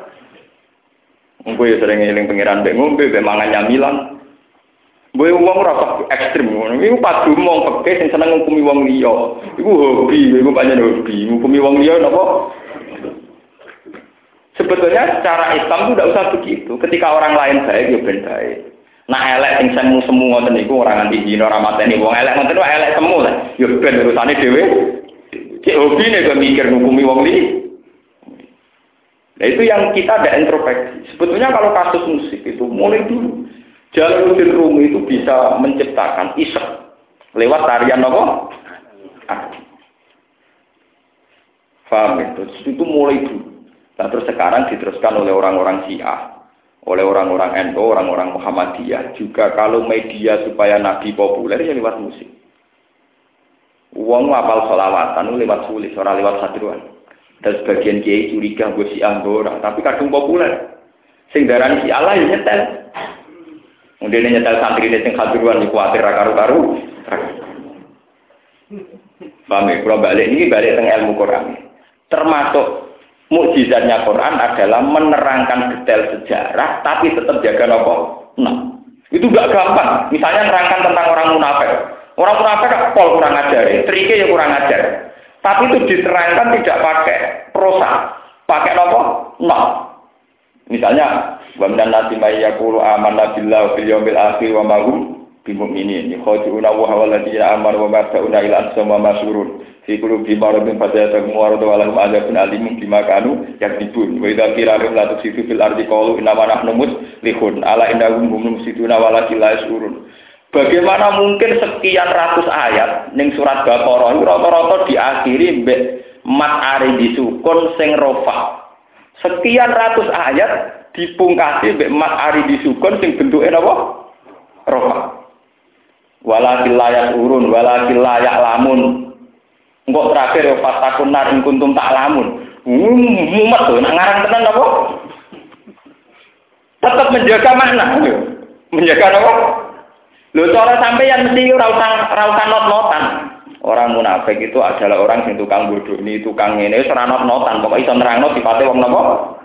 Kowe ya sering eling pengiran mbek ngombe, mbek mangan nyamilan. Kowe wong ora kok ekstrem ngono. Iku padu wong peke sing seneng ngukumi wong liya. Iku hobi, iku pancen hobi. Ngukumi wong liya napa? Sebetulnya secara Islam itu tidak usah begitu. Ketika orang lain baik, ya ben baik. Nah elek sing semu ngoten niku ora nganti dina ora mateni wong elek ngoten niku elek semu lah. Ya ben urusane dhewe. Cek hobine kok mikir ngukumi wong liya. Nah itu yang kita ada introspeksi. Sebetulnya kalau kasus musik itu mulai dulu. Jalaluddin Rumi itu bisa menciptakan isek lewat tarian apa? Faham itu? Itu mulai dulu. Nah, terus sekarang diteruskan oleh orang-orang Syiah, oleh orang-orang NU, orang-orang Muhammadiyah. Juga kalau media supaya Nabi populer ya lewat musik. Uang apal sholawatan lewat sulis, orang lewat hadruan. Dan sebagian kiai curiga gue Syiah orang, tapi kadang populer. Sing darani Syiah lah ya nyetel. Kemudian nyetel santri ini sing hadruan dikuatir karu-karu. Paham ya? Kalau balik ini balik tentang ilmu Quran. Termasuk mukjizatnya Quran adalah menerangkan detail sejarah, tapi tetap jaga apa? Nah, itu gak gampang. Misalnya menerangkan tentang orang munafik. Orang munafik pol kurang ajar, triknya ya kurang ajar. Tapi itu diterangkan tidak pakai prosa, pakai apa? Nah. Misalnya, wa minan nasi may yaqulu amanna billahi wal yawmil akhir wa ma hum bimu'minin. Yakhuduna wa hawalladina amanu wa ma ta'una ila asma masurun. Fi qulubihim maradun fazadahum maradun wa lahum adzabun alimun bima kanu yakdzibun. Wa idza qila lahum la tusidu fil ardi qalu inna ma nahnu muslihun. Ala innahum hum mufsiduna walakin la yash'urun. Bagaimana mungkin sekian ratus ayat ning surat Baqarah rata-rata diakhiri mbek mat ari disukun sing rofa. Sekian ratus ayat dipungkasi mbek mat ari disukun sing bentuke napa? Rofa. Walakin layak urun, walakin layak lamun. Engkau terakhir fatakun nar in kuntum tak lamun. Mumet tuh, nak ngarang tenan apa? Tetap menjaga makna. Menjaga apa? Lho cara sampeyan mesti ora usah not-notan. Orang munafik itu adalah orang yang tukang bodoh, ini tukang ngene wis ora not-notan, pokoke iso nerangno sifate wong napa?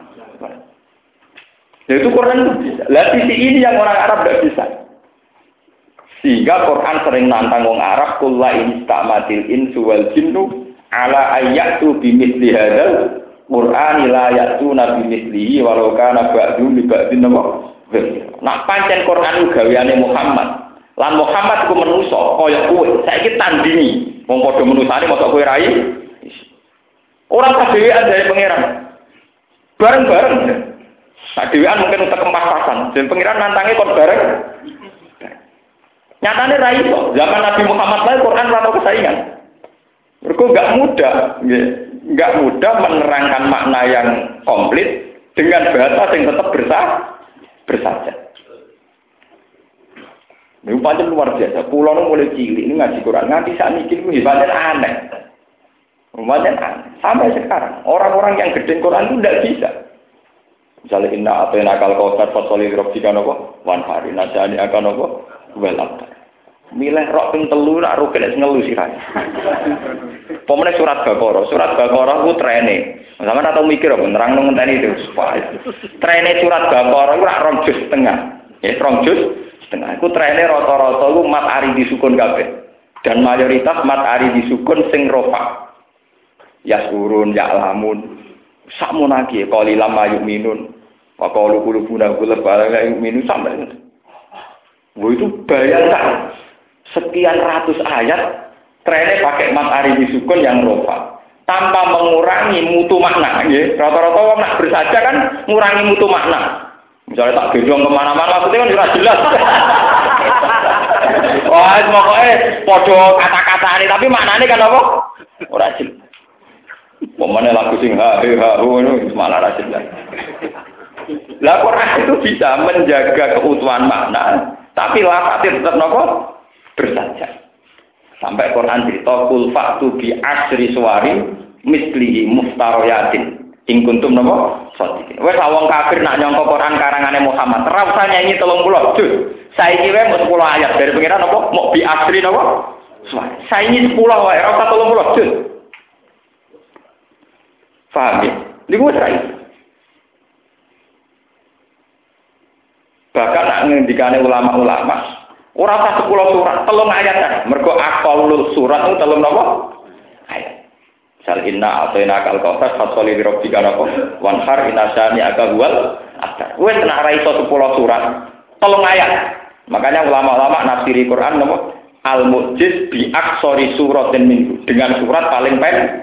Ya itu Quran itu bisa. Lah sisi ini yang orang Arab tidak bisa. Sehingga Quran sering nantang wong Arab kullu instamatil insu wal jinnu ala ayyatu bimithli hadzal Qur'an la ya'tuna bimithlihi walau kana ba'du li ba'din napa. Nak pancen Quran gaweane Muhammad. Lan Muhammad ku manusa kaya kowe. Saiki tandingi wong padha manusane mosok kowe rai. Ora kadewean dari pangeran. Bareng-bareng. Kadewean mungkin untuk kempasan. Dan pangeran nantange kon bareng. Nyatane ra iso. Zaman Nabi Muhammad lae Quran ora ono kesaingan. Mergo enggak mudah menerangkan makna yang komplit dengan bahasa yang tetap bersaja. Ini pancen luar biasa. Pulau nu mulai cilik ini ngaji Quran nganti saat ini itu hebatnya aneh. Pancen aneh. Sampai sekarang orang-orang yang gede Quran itu tidak bisa. Misalnya inna atena kal kautsar fasoli rabbika napa wan hari najani akan napa welap. Milih rok ping 3 nak ro kena ngelu sirahe. Pemene surat Baqarah ku trene. Sampeyan atau mikir apa nerangno ngenteni itu. Trene surat Baqarah ku rak 2 juz setengah. Ya 2 juz setengah. Iku trene rata-rata ku mat ari disukun kabeh. Dan mayoritas mat ari disukun sing rofa. Yasurun ya'lamun. Sakmunaki qalilam mayuminun. Wa qalu qulubuna ghulf ala yu'minu sampai. Itu bayangkan sekian ratus ayat trennya pakai mat ari disukun yang rofa tanpa mengurangi mutu makna. Rata-rata orang nak bersaja kan mengurangi mutu makna. Misalnya tak gendong kemana-mana maksudnya kan sudah jelas. Wah, pokoknya podo kata-kata ini tapi maknanya kan apa? Ora jelas. Pemane lagu sing itu malah ora jelas. Lah Quran itu bisa menjaga keutuhan makna, tapi lafadznya tetap nopo bersajak. Sampai Quran cerita kul fa'tu bi asri suwarin mislihi muftaroyatin. In kuntum napa? Shadiqin. Wes wong kafir nak nyangka Quran karangane Muhammad. Ora usah nyanyi 30 juz. Saiki wae mung 10 ayat dari pengiran napa? Mok bi asri napa? Saiki 10 wae, ora usah 30 juz. Paham ya? Niku wis ra. Bahkan nak ngendikane ulama-ulama ora usah 10 surat, 3 ayat ae. Mergo aqallul surat itu 3 napa? Ayat. Sal inna atayna kal kautsar fasoli bi rabbika napa? Wanhar inasani aga wal abtar. Wis nak ra iso 10 surat, 3 ayat. Makanya ulama-ulama nafsiri Quran napa? Al mu'jiz bi aksori suratin minhu. Dengan surat paling pendek.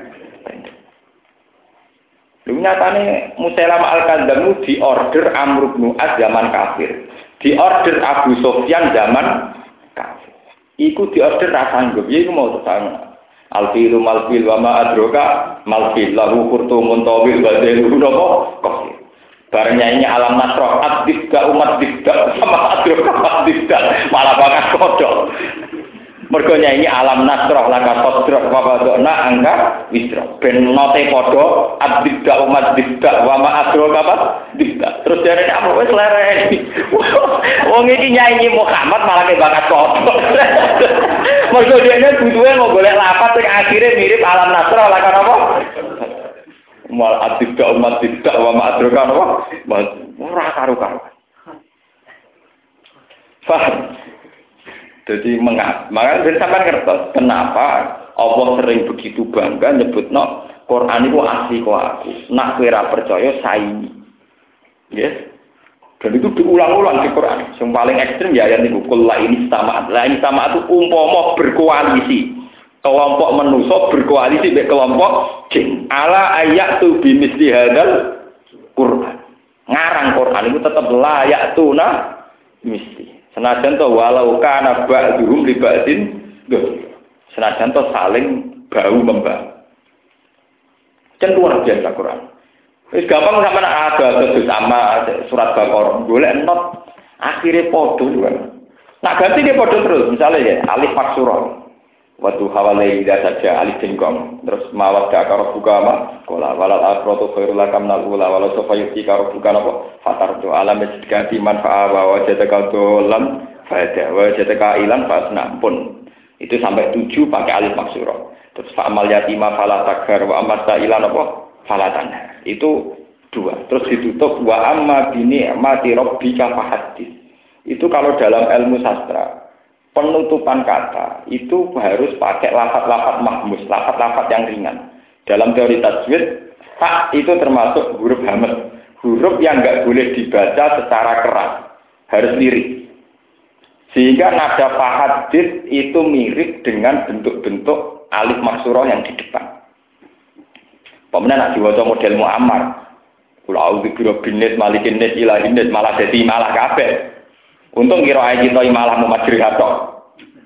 Lu nyatane Musailamah al-Kadzdzab di order Amr bin As zaman kafir. Di order Abu Sufyan zaman kafir. Iku di order ra sanggup, ya iku mau tetang. Al-filu mal-fil wa ma adroka mal-fil lahu qurtumun tawil wa delu napa kafir. Bareng nyanyi alam nasroh ad-dibda umat dibda sama adroka ad-dibda malah bakat kodok. Mergo nyanyi alam nasroh laka sodroh wa badona angka wisroh. Ben note padha ad-dibda umat dibda wa ma adroka apa dibda. Terus jarene apa wis lereni. Wong iki nyanyi Muhammad malah ke bakat kodok. Mergo dene butuhe mau golek lapat sing akhire mirip alam nasroh laka apa? Mal ad-dibda umat dibda wa ma adroka apa? Ora karo-karo. Faham? Jadi makanya sampai ngertos kenapa Allah sering begitu bangga nyebutno Quran itu asli kok aku. Nak kowe ora percaya saingi. Yes. Dan itu diulang-ulang di Quran. Yang paling ekstrem ya ayat niku kul la ini sama. La ini sama itu umpama berkoalisi. Kelompok manusia berkoalisi dengan kelompok jin. Ala ayatu bimisli hadzal Quran. Ngarang Quran itu tetap layak tuna mesti. Senajan to walau kana ba'dhum li ba'din senajan to saling bau membau. Kan luar biasa Quran. Wis gampang sampean ada sama surat Baqarah golek not akhire padha juga. Nak ganti ke padha terus misalnya ya alif maksura. Waktu hawalai saja alif jengkong terus mawat dakar buka ma kola walal akhiratu khairul lakam nal ula walau sofayuti karo buka apa fatar tu alam ganti manfaat wa jataka dolam faedah wa jataka ilan fasna pun itu sampai 7 pakai alif maksura terus fa'amal yatima fala taghar wa amasta ilan apa falatan itu 2 terus ditutup wa amma bini mati rabbika fahaddits itu kalau dalam ilmu sastra penutupan kata itu harus pakai lafaz-lafaz mahmus, lafaz-lafaz yang ringan. Dalam teori tajwid, ta itu termasuk huruf hamzah, huruf yang enggak boleh dibaca secara keras, harus lirik. Sehingga nada fahadits itu mirip dengan bentuk-bentuk alif maksurah yang di depan. Pemenang nak diwaca model Muammar, kul a'udzu birabbin malikin nas ilahin nas malah dadi malah kabeh. Untung kira ae kita malah memajri hatok.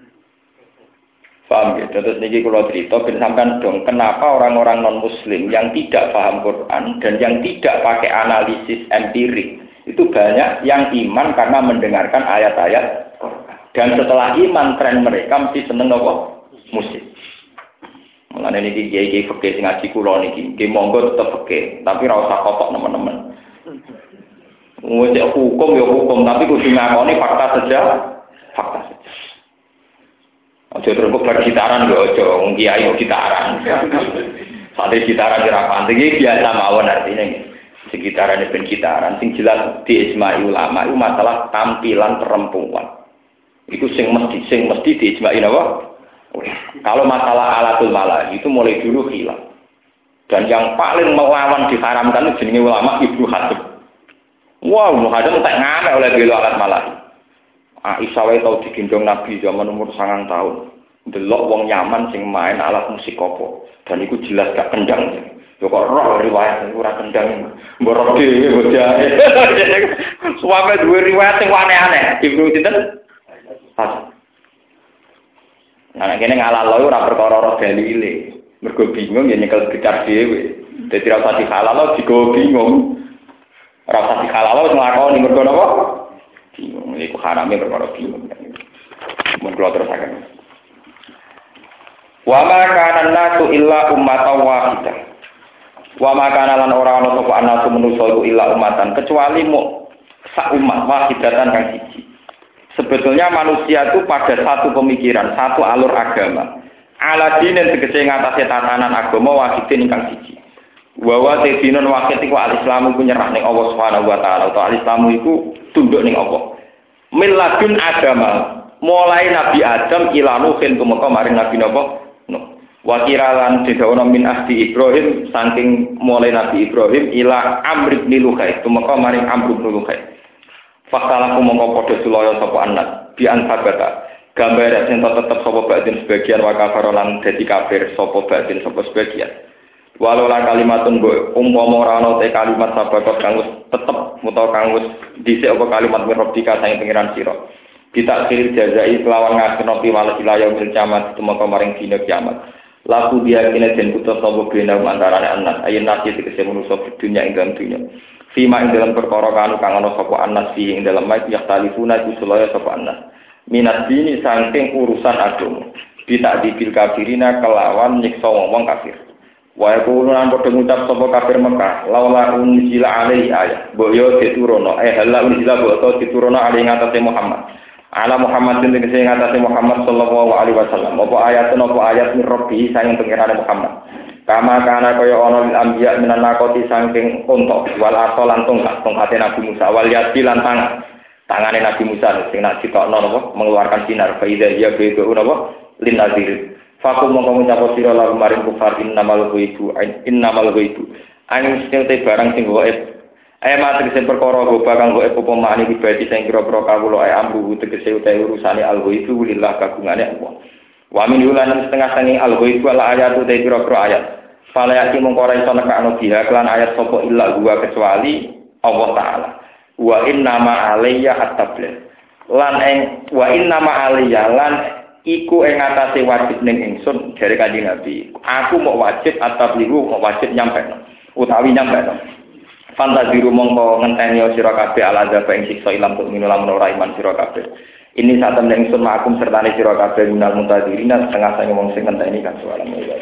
Paham ya? Terus niki kula cerita ben sampean dong kenapa orang-orang non-muslim yang tidak paham Quran dan yang tidak pakai analisis empirik itu banyak yang iman karena mendengarkan ayat-ayat Quran. Dan setelah iman tren mereka mesti seneng apa? Musik. Mulane niki kiai-kiai fikih sing ngaji kula niki, nggih monggo tetep fikih, tapi ora usah kotok nemen-nemen. Wis hukum ya hukum, tapi kudu ngakoni fakta saja. Aja terus bergitaran yo aja, wong kiai gitaran. Sate gitaran kira panting iki biasa mawon artinya. Sing gitaran ben gitaran, sing jelas di ijma ulama itu masalah tampilan perempuan. Itu sing mesti di ijma napa? Kalau masalah alatul malah itu mulai dulu hilang. Dan yang paling melawan diharamkan jenenge ulama Ibnu Hazm. Wow, Muhammad tak ngamek oleh bela alat malah. Aisyah wae tau digendong Nabi zaman umur 9 tahun. Delok wong Yaman sing main alat musik apa. Dan itu jelas gak kendang. Yo kok roh riwayat ora kendang. Mbok dhewe bojahe. Suwame duwe riwayat sing aneh-aneh. Ibnu sinten? Nah, kene ngalalo ora perkara roh dalile. Mergo bingung ya nyekel gitar dhewe. Dadi ora usah dihalal digo bingung. Rasa dihalal wis nglakoni mergo napa? Bingung iku harame perkara bingung. Mun kula terusaken. Wa ma kana nasu illa ummatan wahidah. Wa ma kana lan ora ana sapa anasu manusa illa ummatan kecuali mu sak umat wahidatan kang siji. Sebetulnya manusia itu pada satu pemikiran, satu alur agama. Ala dinen tegese ngatasi tatanan agama wahidin ingkang siji. Wa wa tadinun wahid iku al-islamu ku nyerah ning Allah Subhanahu wa taala. Atau al-islamu iku tunduk ning Allah. Milladun agama mulai Nabi Adam ila Nuhin tumeka maring Nabi Nuh. Wa kiralan didawono min ahdi Ibrahim saking mulai Nabi Ibrahim ila Amr bin Luhai tumeka maring Amr bin Luhai. Fakalaku mongko padha sulaya sapa anak bi ansabata gambar sing tetep sapa batin sebagian wa kafarolan dadi kafir sapa batin sapa sebagian walau la kalimatun go umpama ora ana te kalimat sabakot kang wis tetep utawa kang wis dhisik apa kalimat mirobika sang pengiran sira kita akhir jazai kelawan ngasono piwales wilayah kiamat tumeka maring dina kiamat laku dia kene den putus sapa bena antarane anak ayen nasi tegese manusa dunya ing dalam dunya Fima ing dalam perkara kanu kang ana sapa anas fi ing dalam mayit yaktalifuna kusulaya sapa anas. Minat dini saking urusan agama. Bisa dibil kafirina kelawan nyiksa wong kafir. Wa yaquluna padha ngucap sapa kafir Mekah, laula unzila alaihi ayat. Mbok yo diturono, hala unzila mbok diturono alaihi ngatasé Muhammad. Ala Muhammad sing tegese ngatasé Muhammad sallallahu alaihi wasallam. Apa ayat min rabbi sayang pengerane Muhammad. Kama kana kaya ana ambiya minan nakoti saking unta wal asolan tongkat Nabi Musa wal yadi lan tangane Nabi Musa sing nak ditokno napa mengeluarkan sinar faida ya bego napa lin nazir fakum mongko ngucap sira lan maring kufar innamal ghaibu sing te barang sing gaib matri sing perkara goba kang gaib apa mani dibadi sing kira-kira kawula ambu tegese utahe urusane al ghaibu lillah kagungane Allah wa min yulan setengah sangi al-ghaibu ala ayatu te pira-pira ayat. Fala yati mung ora iso nekakno biha kelan ayat sapa illa gua kecuali Allah taala. Wa inna ma alayya at-tabligh. Lan wa inna ma alayya lan iku ing atase wajib ning ingsun jare Kanjeng Nabi. Aku mau wajib at-tabligh mau wajib nyampeno utawi nyampeno. Fantaziru mongko ngenteni sira kabeh alazab ing siksa ilang tuk minulamun ora iman sira kabeh. Ini saat temen ingsun makum sertane sira kabeh minal muntadirina setengah sange wong sing ngenteni kan soalan iki.